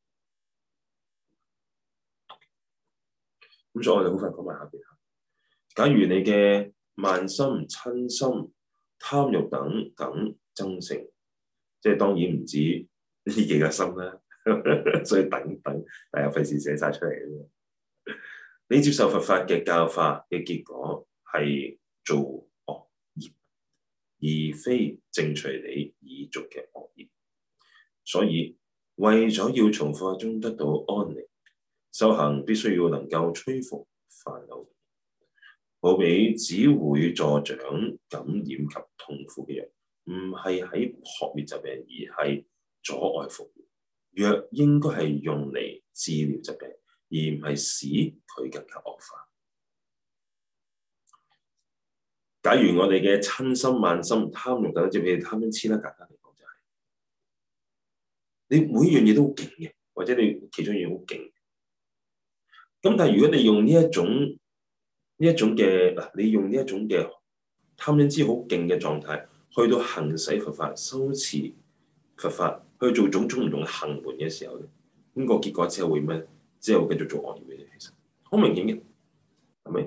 咁所以我哋好快講埋下邊。假如你嘅慢心、瞋心、貪欲等等增盛，即係當然唔止呢幾個心啦，所以等等，大家費事寫晒出嚟嘅。你接受佛法嘅教化嘅結果係做惡業，而非正隨你已續嘅惡業。所以為咗要從佛法中得到安寧，修行必須要能夠摧伏煩惱。好比只會助長感染及痛苦嘅藥，唔係喺撲滅疾病，而係阻礙復原。藥應該係用嚟治療疾病，而唔係使佢更加惡化。假如我哋嘅瞋心、慢心、貪欲等，即係譬如貪嗔癡啦，簡單嚟講就係、是、你每樣嘢都好勁嘅，或者你其中一樣好勁。咁但係如果你用呢一種呢一種嘅嗱，你用呢一種嘅貪嗔癡好勁嘅狀態，去到行使佛法、修持佛法，去做種種唔同嘅行門嘅時候咧，咁、那個結果之後會咩？之後繼續做惡業嘅嘢，其實好明顯嘅，係咪？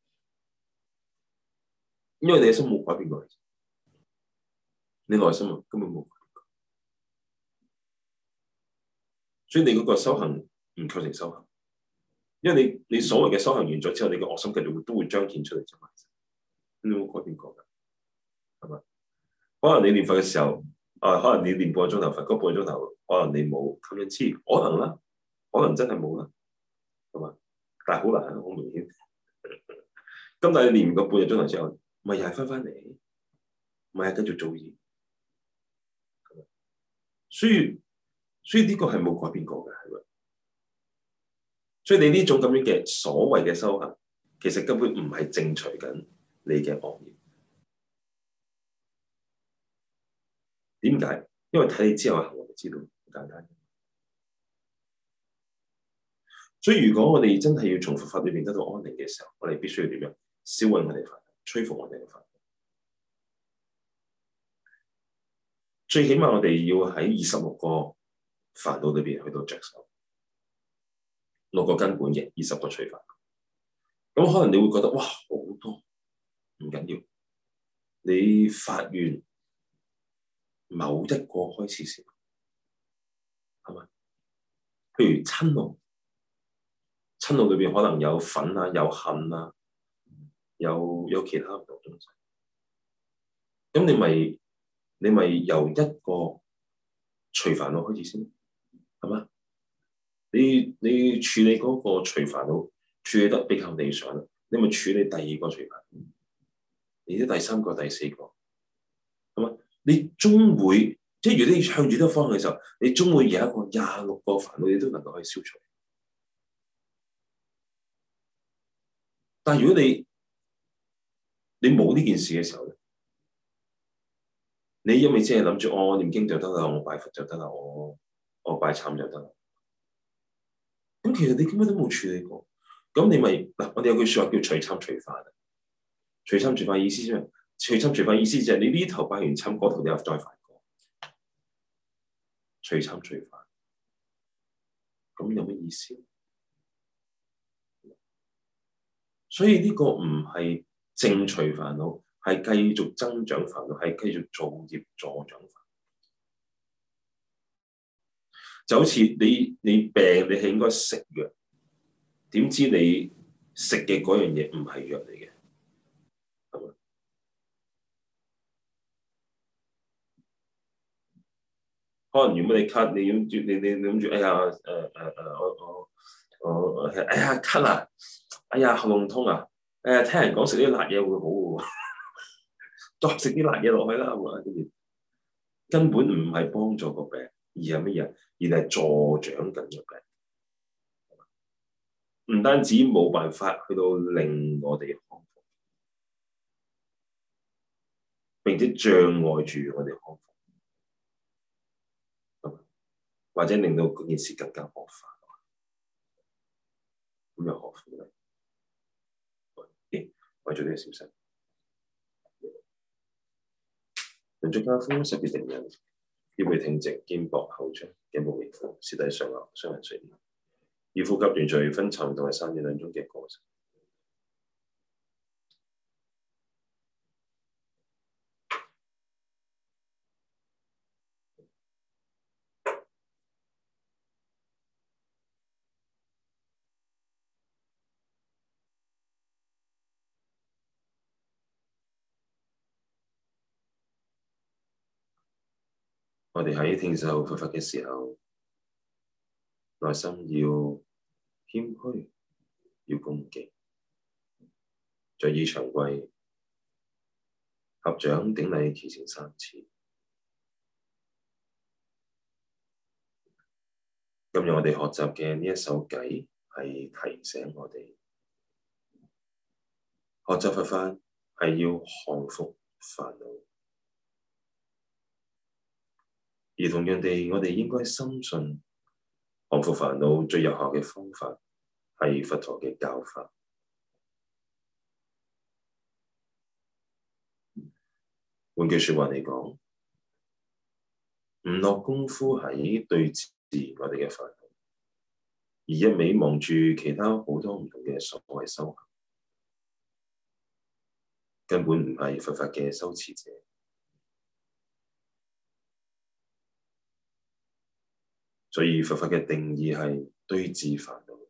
因為你嘅心冇改變過，你內心啊根本冇改變過，所以你嗰個修行唔構成修行。因為你你所謂嘅修行完咗之後，你嘅惡心繼續會都會彰顯出嚟啫嘛，你冇改變過㗎，係咪？可能你念佛嘅時候，啊，可能你念半個鐘頭佛，嗰半個鐘頭可能你冇貪嗔癡，可能啦，可能真係冇啦，係嘛？但係好難，好明顯。咁但係你念個半個鐘頭之後，咪又係翻返嚟，咪係繼續做嘢。所以所以呢個係冇改變過嘅，係咪？所以你呢種咁樣嘅所謂嘅修行，其實根本唔係正隨緊你嘅惡業。點解？因為睇你之後嘅行為就知道，好簡單。所以如果我哋真係要從佛法裏邊得到安寧嘅時候，我哋必須要點樣？消毀我哋煩惱，摧伏我哋嘅煩惱。最起碼我哋要喺二十六個煩惱裏邊去到着手，六個根本嘅二十個除煩。咁可能你會覺得哇，好多，唔緊要，你發願某一個開始先，係咪？譬如瞋怒，瞋怒裏邊可能有憤啊，有恨啊，有有其他唔同東西。咁你咪你咪由一個除煩惱開始先，係嘛？你你處理嗰個除煩惱處理得比較理想，你咪處理第二個除煩惱，你啲第三個、第四個，係嘛？你終會即係如果你向住呢個方向嘅時候，你終會有一個廿六個煩惱，你都能夠可以消除。但係如果你你冇呢件事嘅時候咧， 你因為只係諗住我念經就得啦，我拜佛就得啦，我我拜懺就得啦。咁其實你根本都冇處理過。咁你咪嗱，我哋有句説話叫隨參隨犯。隨參隨犯意思啫嘛，隨參隨犯意思就係你呢頭拜完懺，嗰頭你又再犯過。隨參隨犯，咁有乜意思？所以呢個唔係正除煩惱，係繼續增長煩惱，係繼續造業助長煩惱。就好似你你病，你係應該食藥，點知你食嘅嗰樣嘢唔係藥嚟嘅，係咪？可能如果你咳，你諗住你你你諗住，哎呀誒誒誒，我我我哎呀咳啊，哎呀喉嚨痛啊，哎呀聽人講食啲辣嘢會好嘅喎，再食啲辣嘢落去啦，跟住根本唔係幫助個病，而係乜嘢？而係助長緊個病。唔單止冇辦法去到令我哋康復，並且障礙住我哋康復，或者令到嗰件事更加惡化。咁又何苦咧？咦，為咗呢個小事，人在家中，識別定人，腰背挺直，肩膊後張，頸部微俯，舌抵上顎，雙眼垂簾，以呼吸連續分沉同埋散熱兩種嘅過程。我哋喺聽受佛法嘅時候，內心要謙虛，要恭敬，在意長跪，合掌頂禮虔誠三次。今日我哋學習嘅呢一首偈係提醒我哋，學習佛法係要降伏煩惱，而同樣地，我哋應該深信降伏煩惱最有效嘅方法係佛陀嘅教法。換句説話嚟講，唔落功夫喺對治我哋嘅煩惱，而一味望住其他好多唔同嘅所謂修行，根本唔係佛法嘅修持者。所以佛法嘅定義係對治煩惱。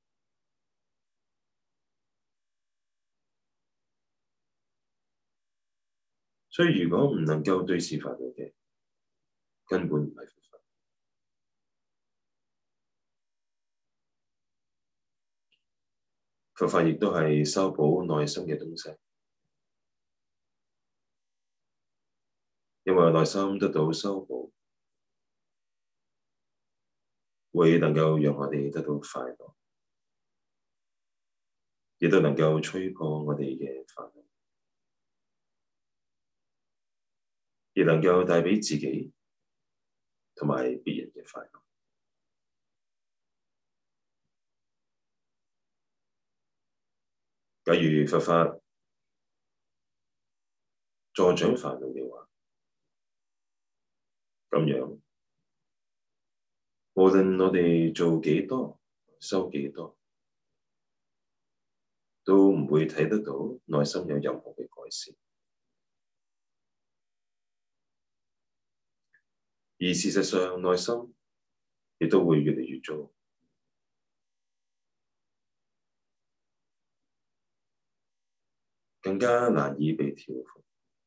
所以如果唔能夠對治煩惱嘅，根本唔係佛法。佛法亦都係修補內心嘅東西，因為內心得到修補，會能夠讓我哋得到快樂，亦都能夠吹破我哋嘅煩惱，亦能夠帶畀自己同埋別人嘅快樂。假如佛法助長煩惱嘅話，咁樣無論我哋做幾多、修幾多，都唔會睇得到內心有任何嘅改善。而事實上，內心亦都會越嚟越糟，更加難以被調伏，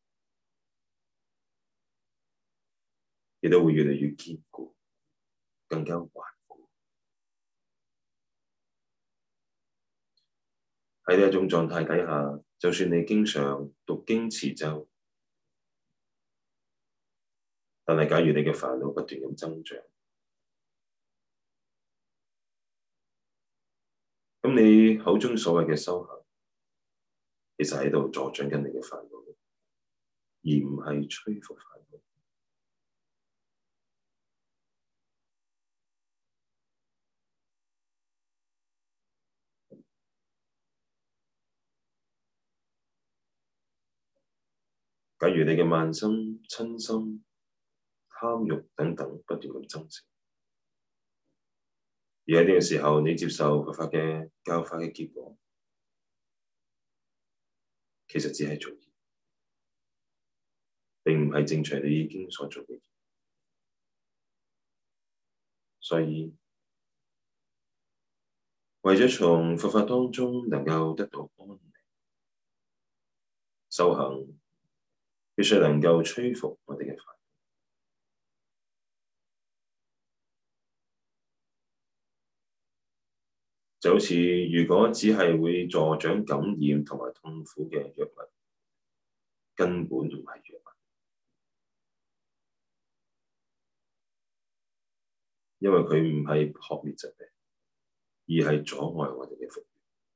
亦都會越嚟越堅固，更加頑固。喺呢一種狀態底下，就算你經常讀經持咒，但係假如你嘅煩惱不斷咁增長，咁你口中所謂嘅修行，其實喺度助長緊你嘅煩惱。 而唔係摧伏煩惱。假如你嘅慢心、嗔心、貪欲等等不斷咁增盛，而喺呢個時候你接受佛法嘅教法嘅結果，其實只係造業，並唔係正隨你已經所做嘅業。所以為咗從佛法當中能夠得到安寧，修行必須能夠摧伏我哋嘅煩惱。就好似如果只係會助長感染同埋痛苦嘅藥物，根本唔係藥物，因為佢唔係撲滅疾病，而係阻礙我哋嘅復原。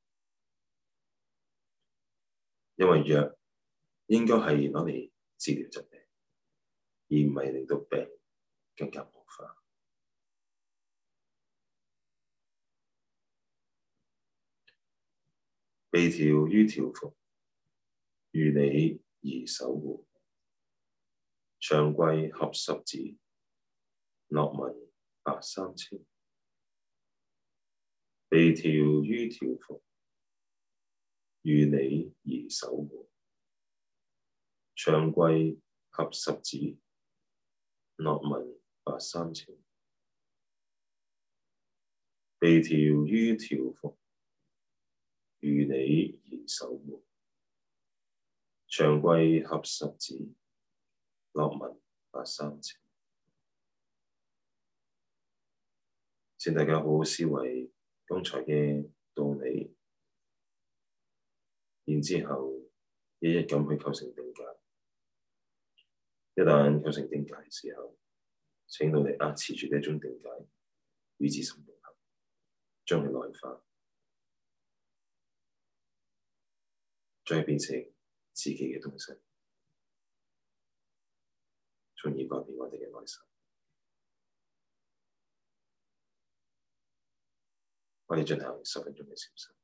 因為藥應該係攞嚟治療疾病，而唔係令到病更加惡化。被調於調伏，如理儀守護，長貴合十子，樂聞白三稱。被調於調伏，如理儀守護，長貴合十子，樂聞白三稱。被調於調伏，如理儀守護，長貴合十子，樂聞白三稱。請大家好好思維剛才嘅道理，然之後一一咁去構成定解。一旦構成定解嘅時候，請努力壓持住呢一種定解，與自心融合，將佢內化，將佢變成自己嘅東西，從而改變我哋嘅內心。我哋進行十分鐘嘅禪修。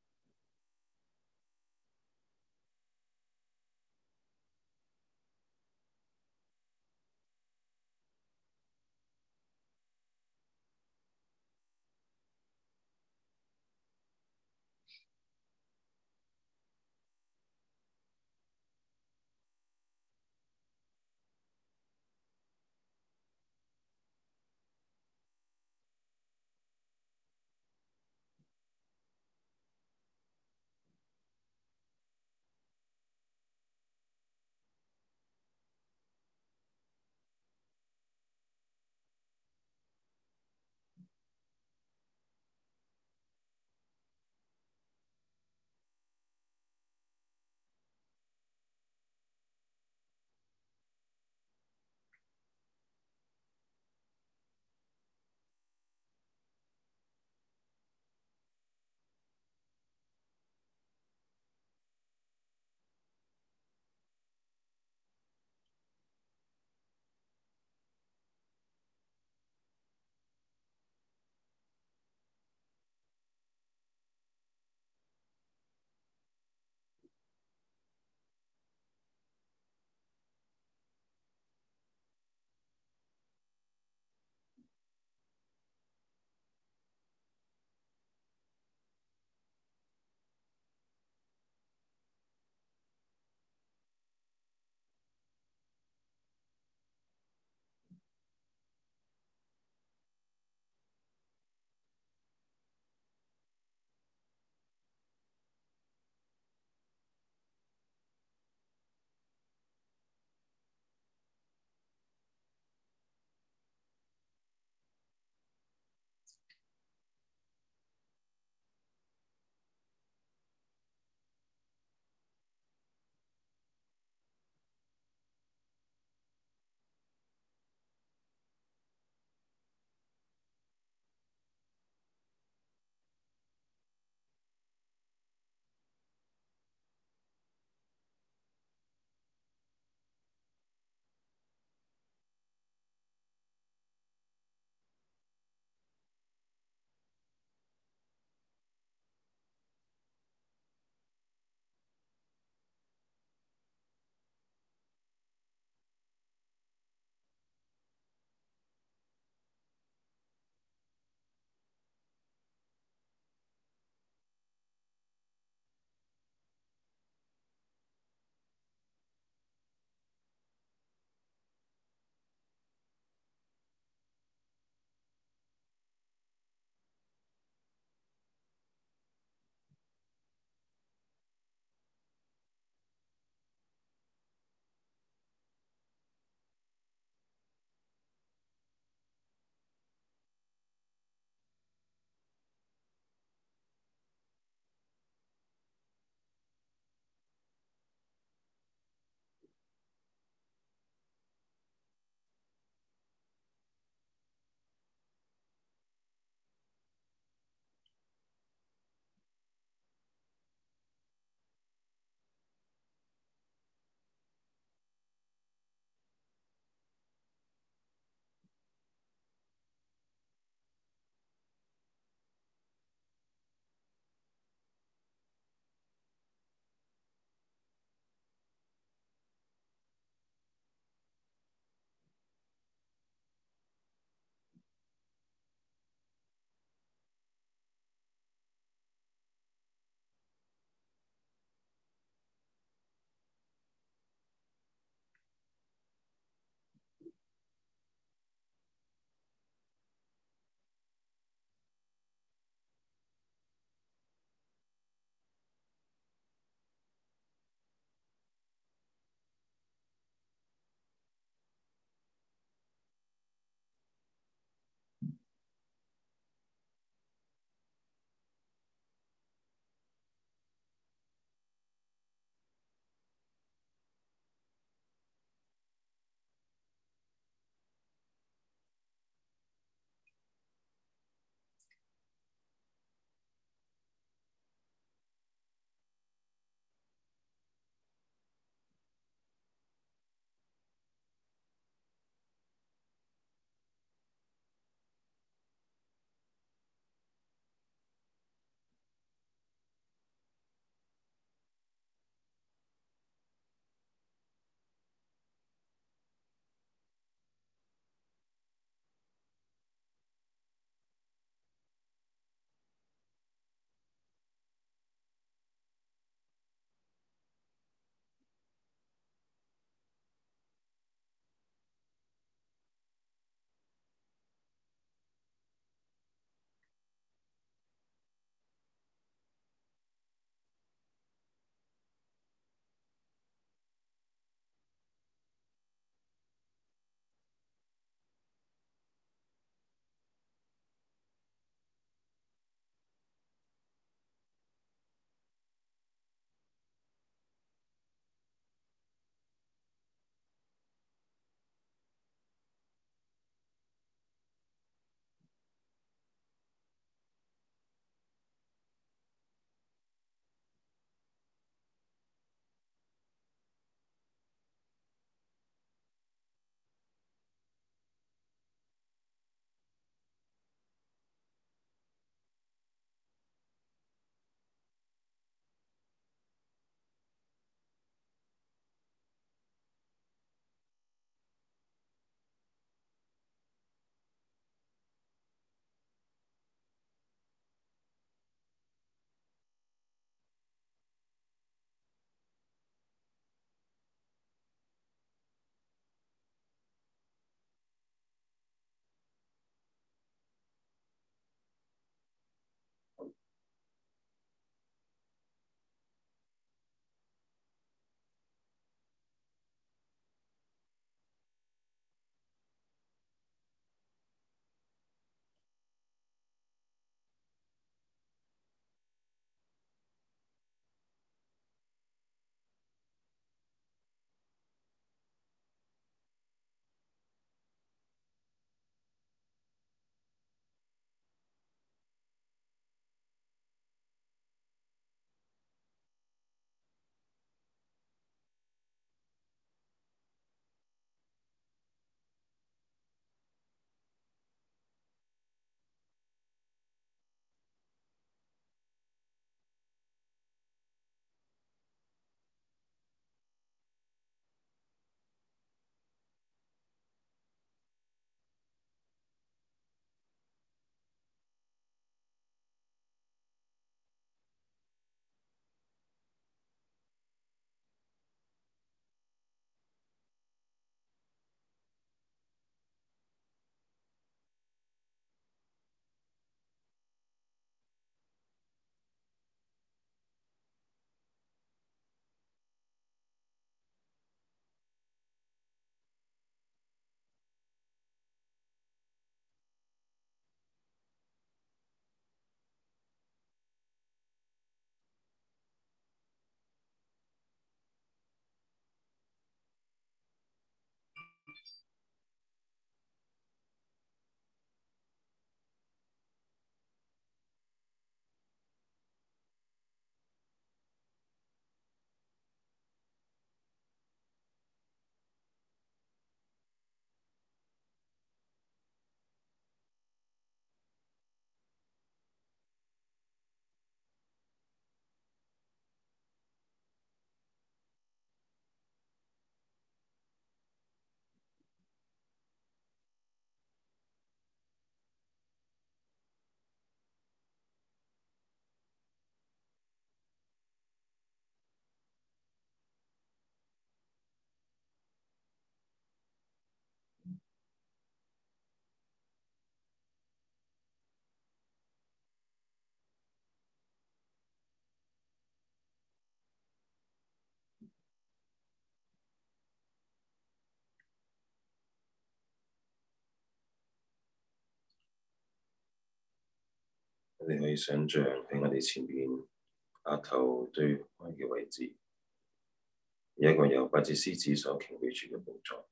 你可以想像喺我哋前面額頭對開嘅位置，有一個由八隻獅子所擎舉住嘅寶座，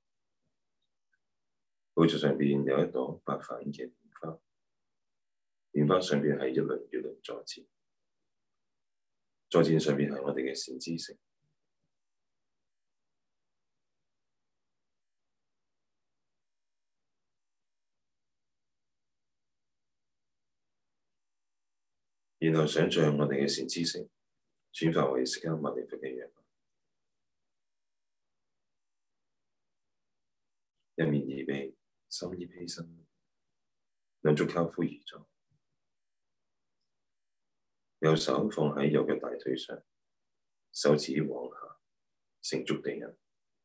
寶座上邊有一朵白瓣嘅蓮花，蓮花上邊係一輪月輪坐墊，坐墊上邊係我哋嘅善知識。然後想像我哋嘅善知識轉化為釋迦牟尼佛嘅樣，一面二臂，三衣披身，兩足跏趺而坐，右手放喺右腳大腿上，手指往下成觸地印，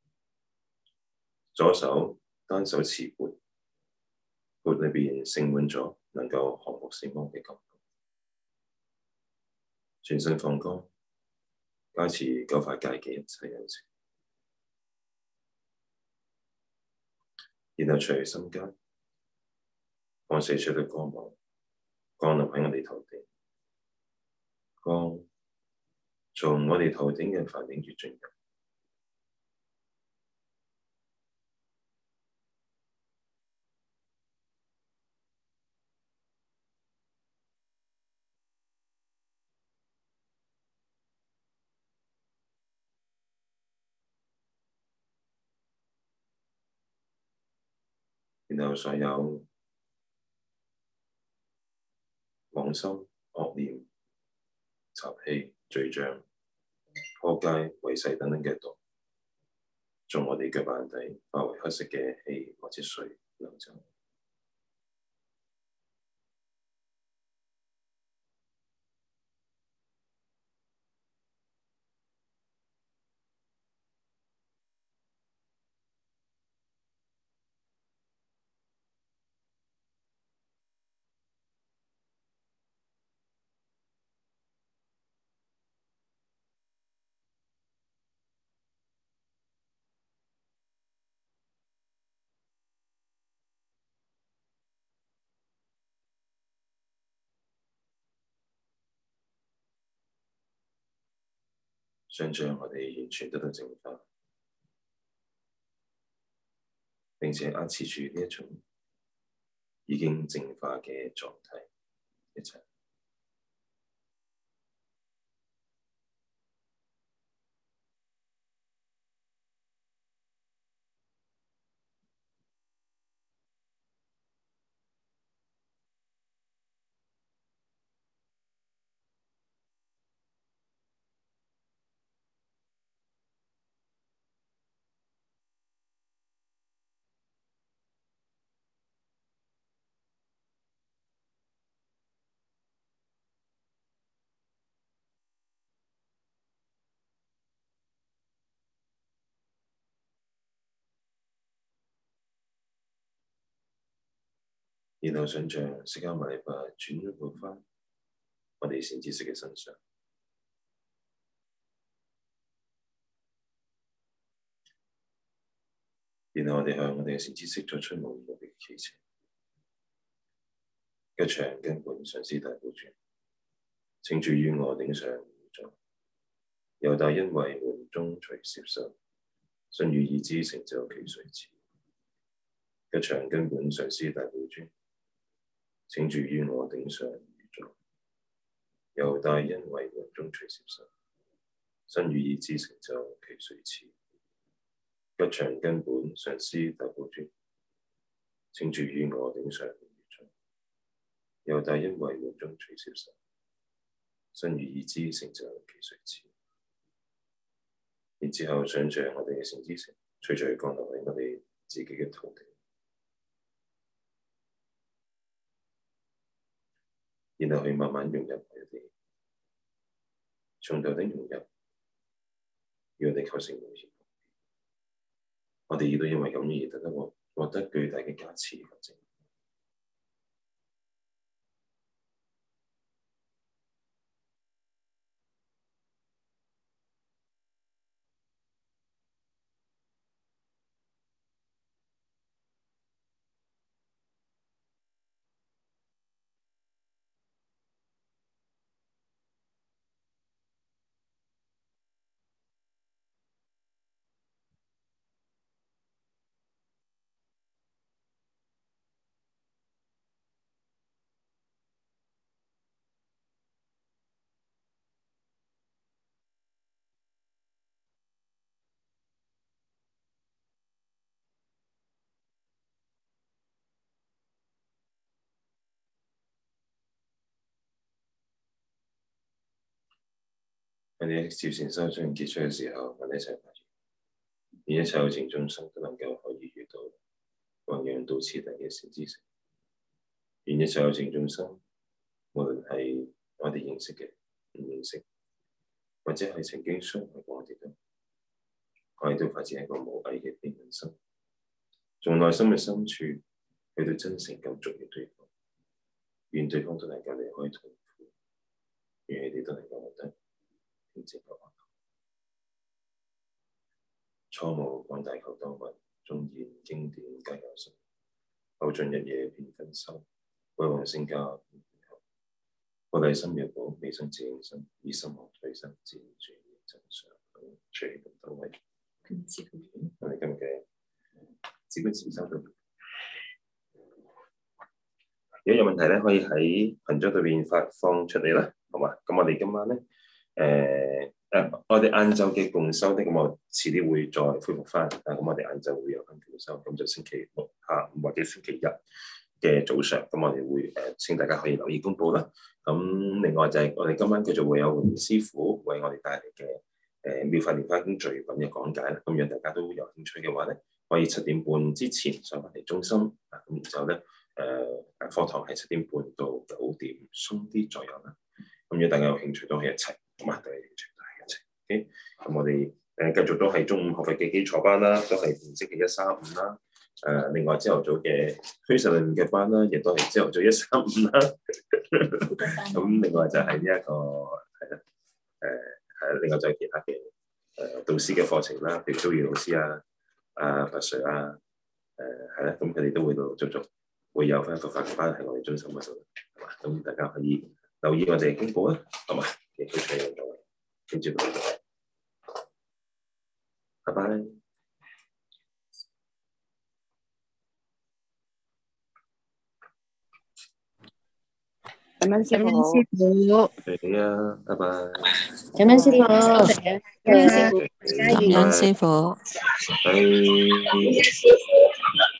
左手單手持缽，缽裏邊盛滿咗能夠降伏死亡嘅感覺，全身放光，加持九法界嘅一切有情。然後隨心間放射出嘅光芒降臨喺我哋頭頂，光從我哋頭頂嘅梵頂穴進入，然後所有妄心、惡念、習氣、罪障、破戒、違誓等等嘅毒，從我哋腳板底化為黑色嘅氣或者水流走。想像我哋完全得到淨化，並且壓持住呢一種已經淨化嘅狀態，一齊。然後想像釋迦牟尼佛轉到返我哋善知識嘅身上，然後我哋向我哋嘅善知識作出無言嘅祈請。吉祥根本上師大寶尊，請住於我頂上無座，由大恩惠門中隨攝受，身語意之成就其隨次。吉祥根本上師大寶尊，請住於我頂上無座，由大恩惠門中隨攝受，身語意之成就其隨次。吉祥根本上師大寶尊，請住於我頂上無座，由大恩惠門中隨攝受，身語意之成就其隨次。然之後想像我哋嘅善知識隨隨降落喺我哋自己嘅頭頂，然後去慢慢融入我哋，從頭頂融入，讓我哋構成無形。我哋亦都因為咁而得得獲獲得巨大嘅加持和證。 我哋喺接善修將結束嘅時候，我哋一齊發願，願一切有情眾生都能夠可以遇到弘揚到次第嘅善知識。願一切有情眾生，無論係我哋認識嘅、唔認識，或者係曾經傷害過我哋都，我哋都發自一個無偽嘅悲憫心，從內心嘅深處去到真誠咁祝願對方，願對方都能夠離開痛苦，願你哋都能夠獲得平靜嘅安樂。初無廣大求多聞，縱言經典皆有神，後盡日夜遍分修，為往生家遍遍後。我哋心若寶，未生自應身，以心學退身，自然轉現真相。隨喜咁多位，我哋今日嘅止觀禪修到。如果有問題咧，可以喺群組裏邊發放出嚟啦，好嘛？咁我哋今晚咧，誒、呃、誒、呃，我哋晏晝嘅共修咧，咁我遲啲會再恢復翻。啊，咁我哋晏晝會有翻共修，咁就星期六下午或者星期日嘅早上，咁我哋會誒、呃，請大家可以留意公佈啦。咁另外就係我哋今晚繼續會有榮師傅為我哋帶嚟嘅誒《妙法蓮華經序品》嘅講解啦。咁如果大家都有興趣嘅話咧，可以七點半之前上翻嚟中心啊，咁然之後咧。誒誒、呃、課堂係七點半到九點鬆啲左右啦。咁如果大家有興趣都可以一齊，咁啊，大家有興趣都係一齊。OK，咁我哋誒繼續都係中午學佛嘅基礎班啦，都係逢星期一三五啦。誒、呃，另外朝頭早嘅虛實論嘅班啦，亦都係朝頭早一三五啦。咁另外就係呢一個係啦，誒係另外就係其他嘅誒、呃、導師嘅課程啦，譬如蘇耀老師啊、阿佛 Sir 啊，誒係啦，咁佢哋都會陸陸續續。會有翻佛法嘅班喺我哋中心嗰度，係嘛？咁大家可以留意我哋嘅經報啦，係嘛？亦都採用咗，跟住到，拜拜。 感恩師感恩傅， 師傅， 係啊，拜拜。 感恩師傅， 感恩師傅， 加油！ 感恩師傅。 拜。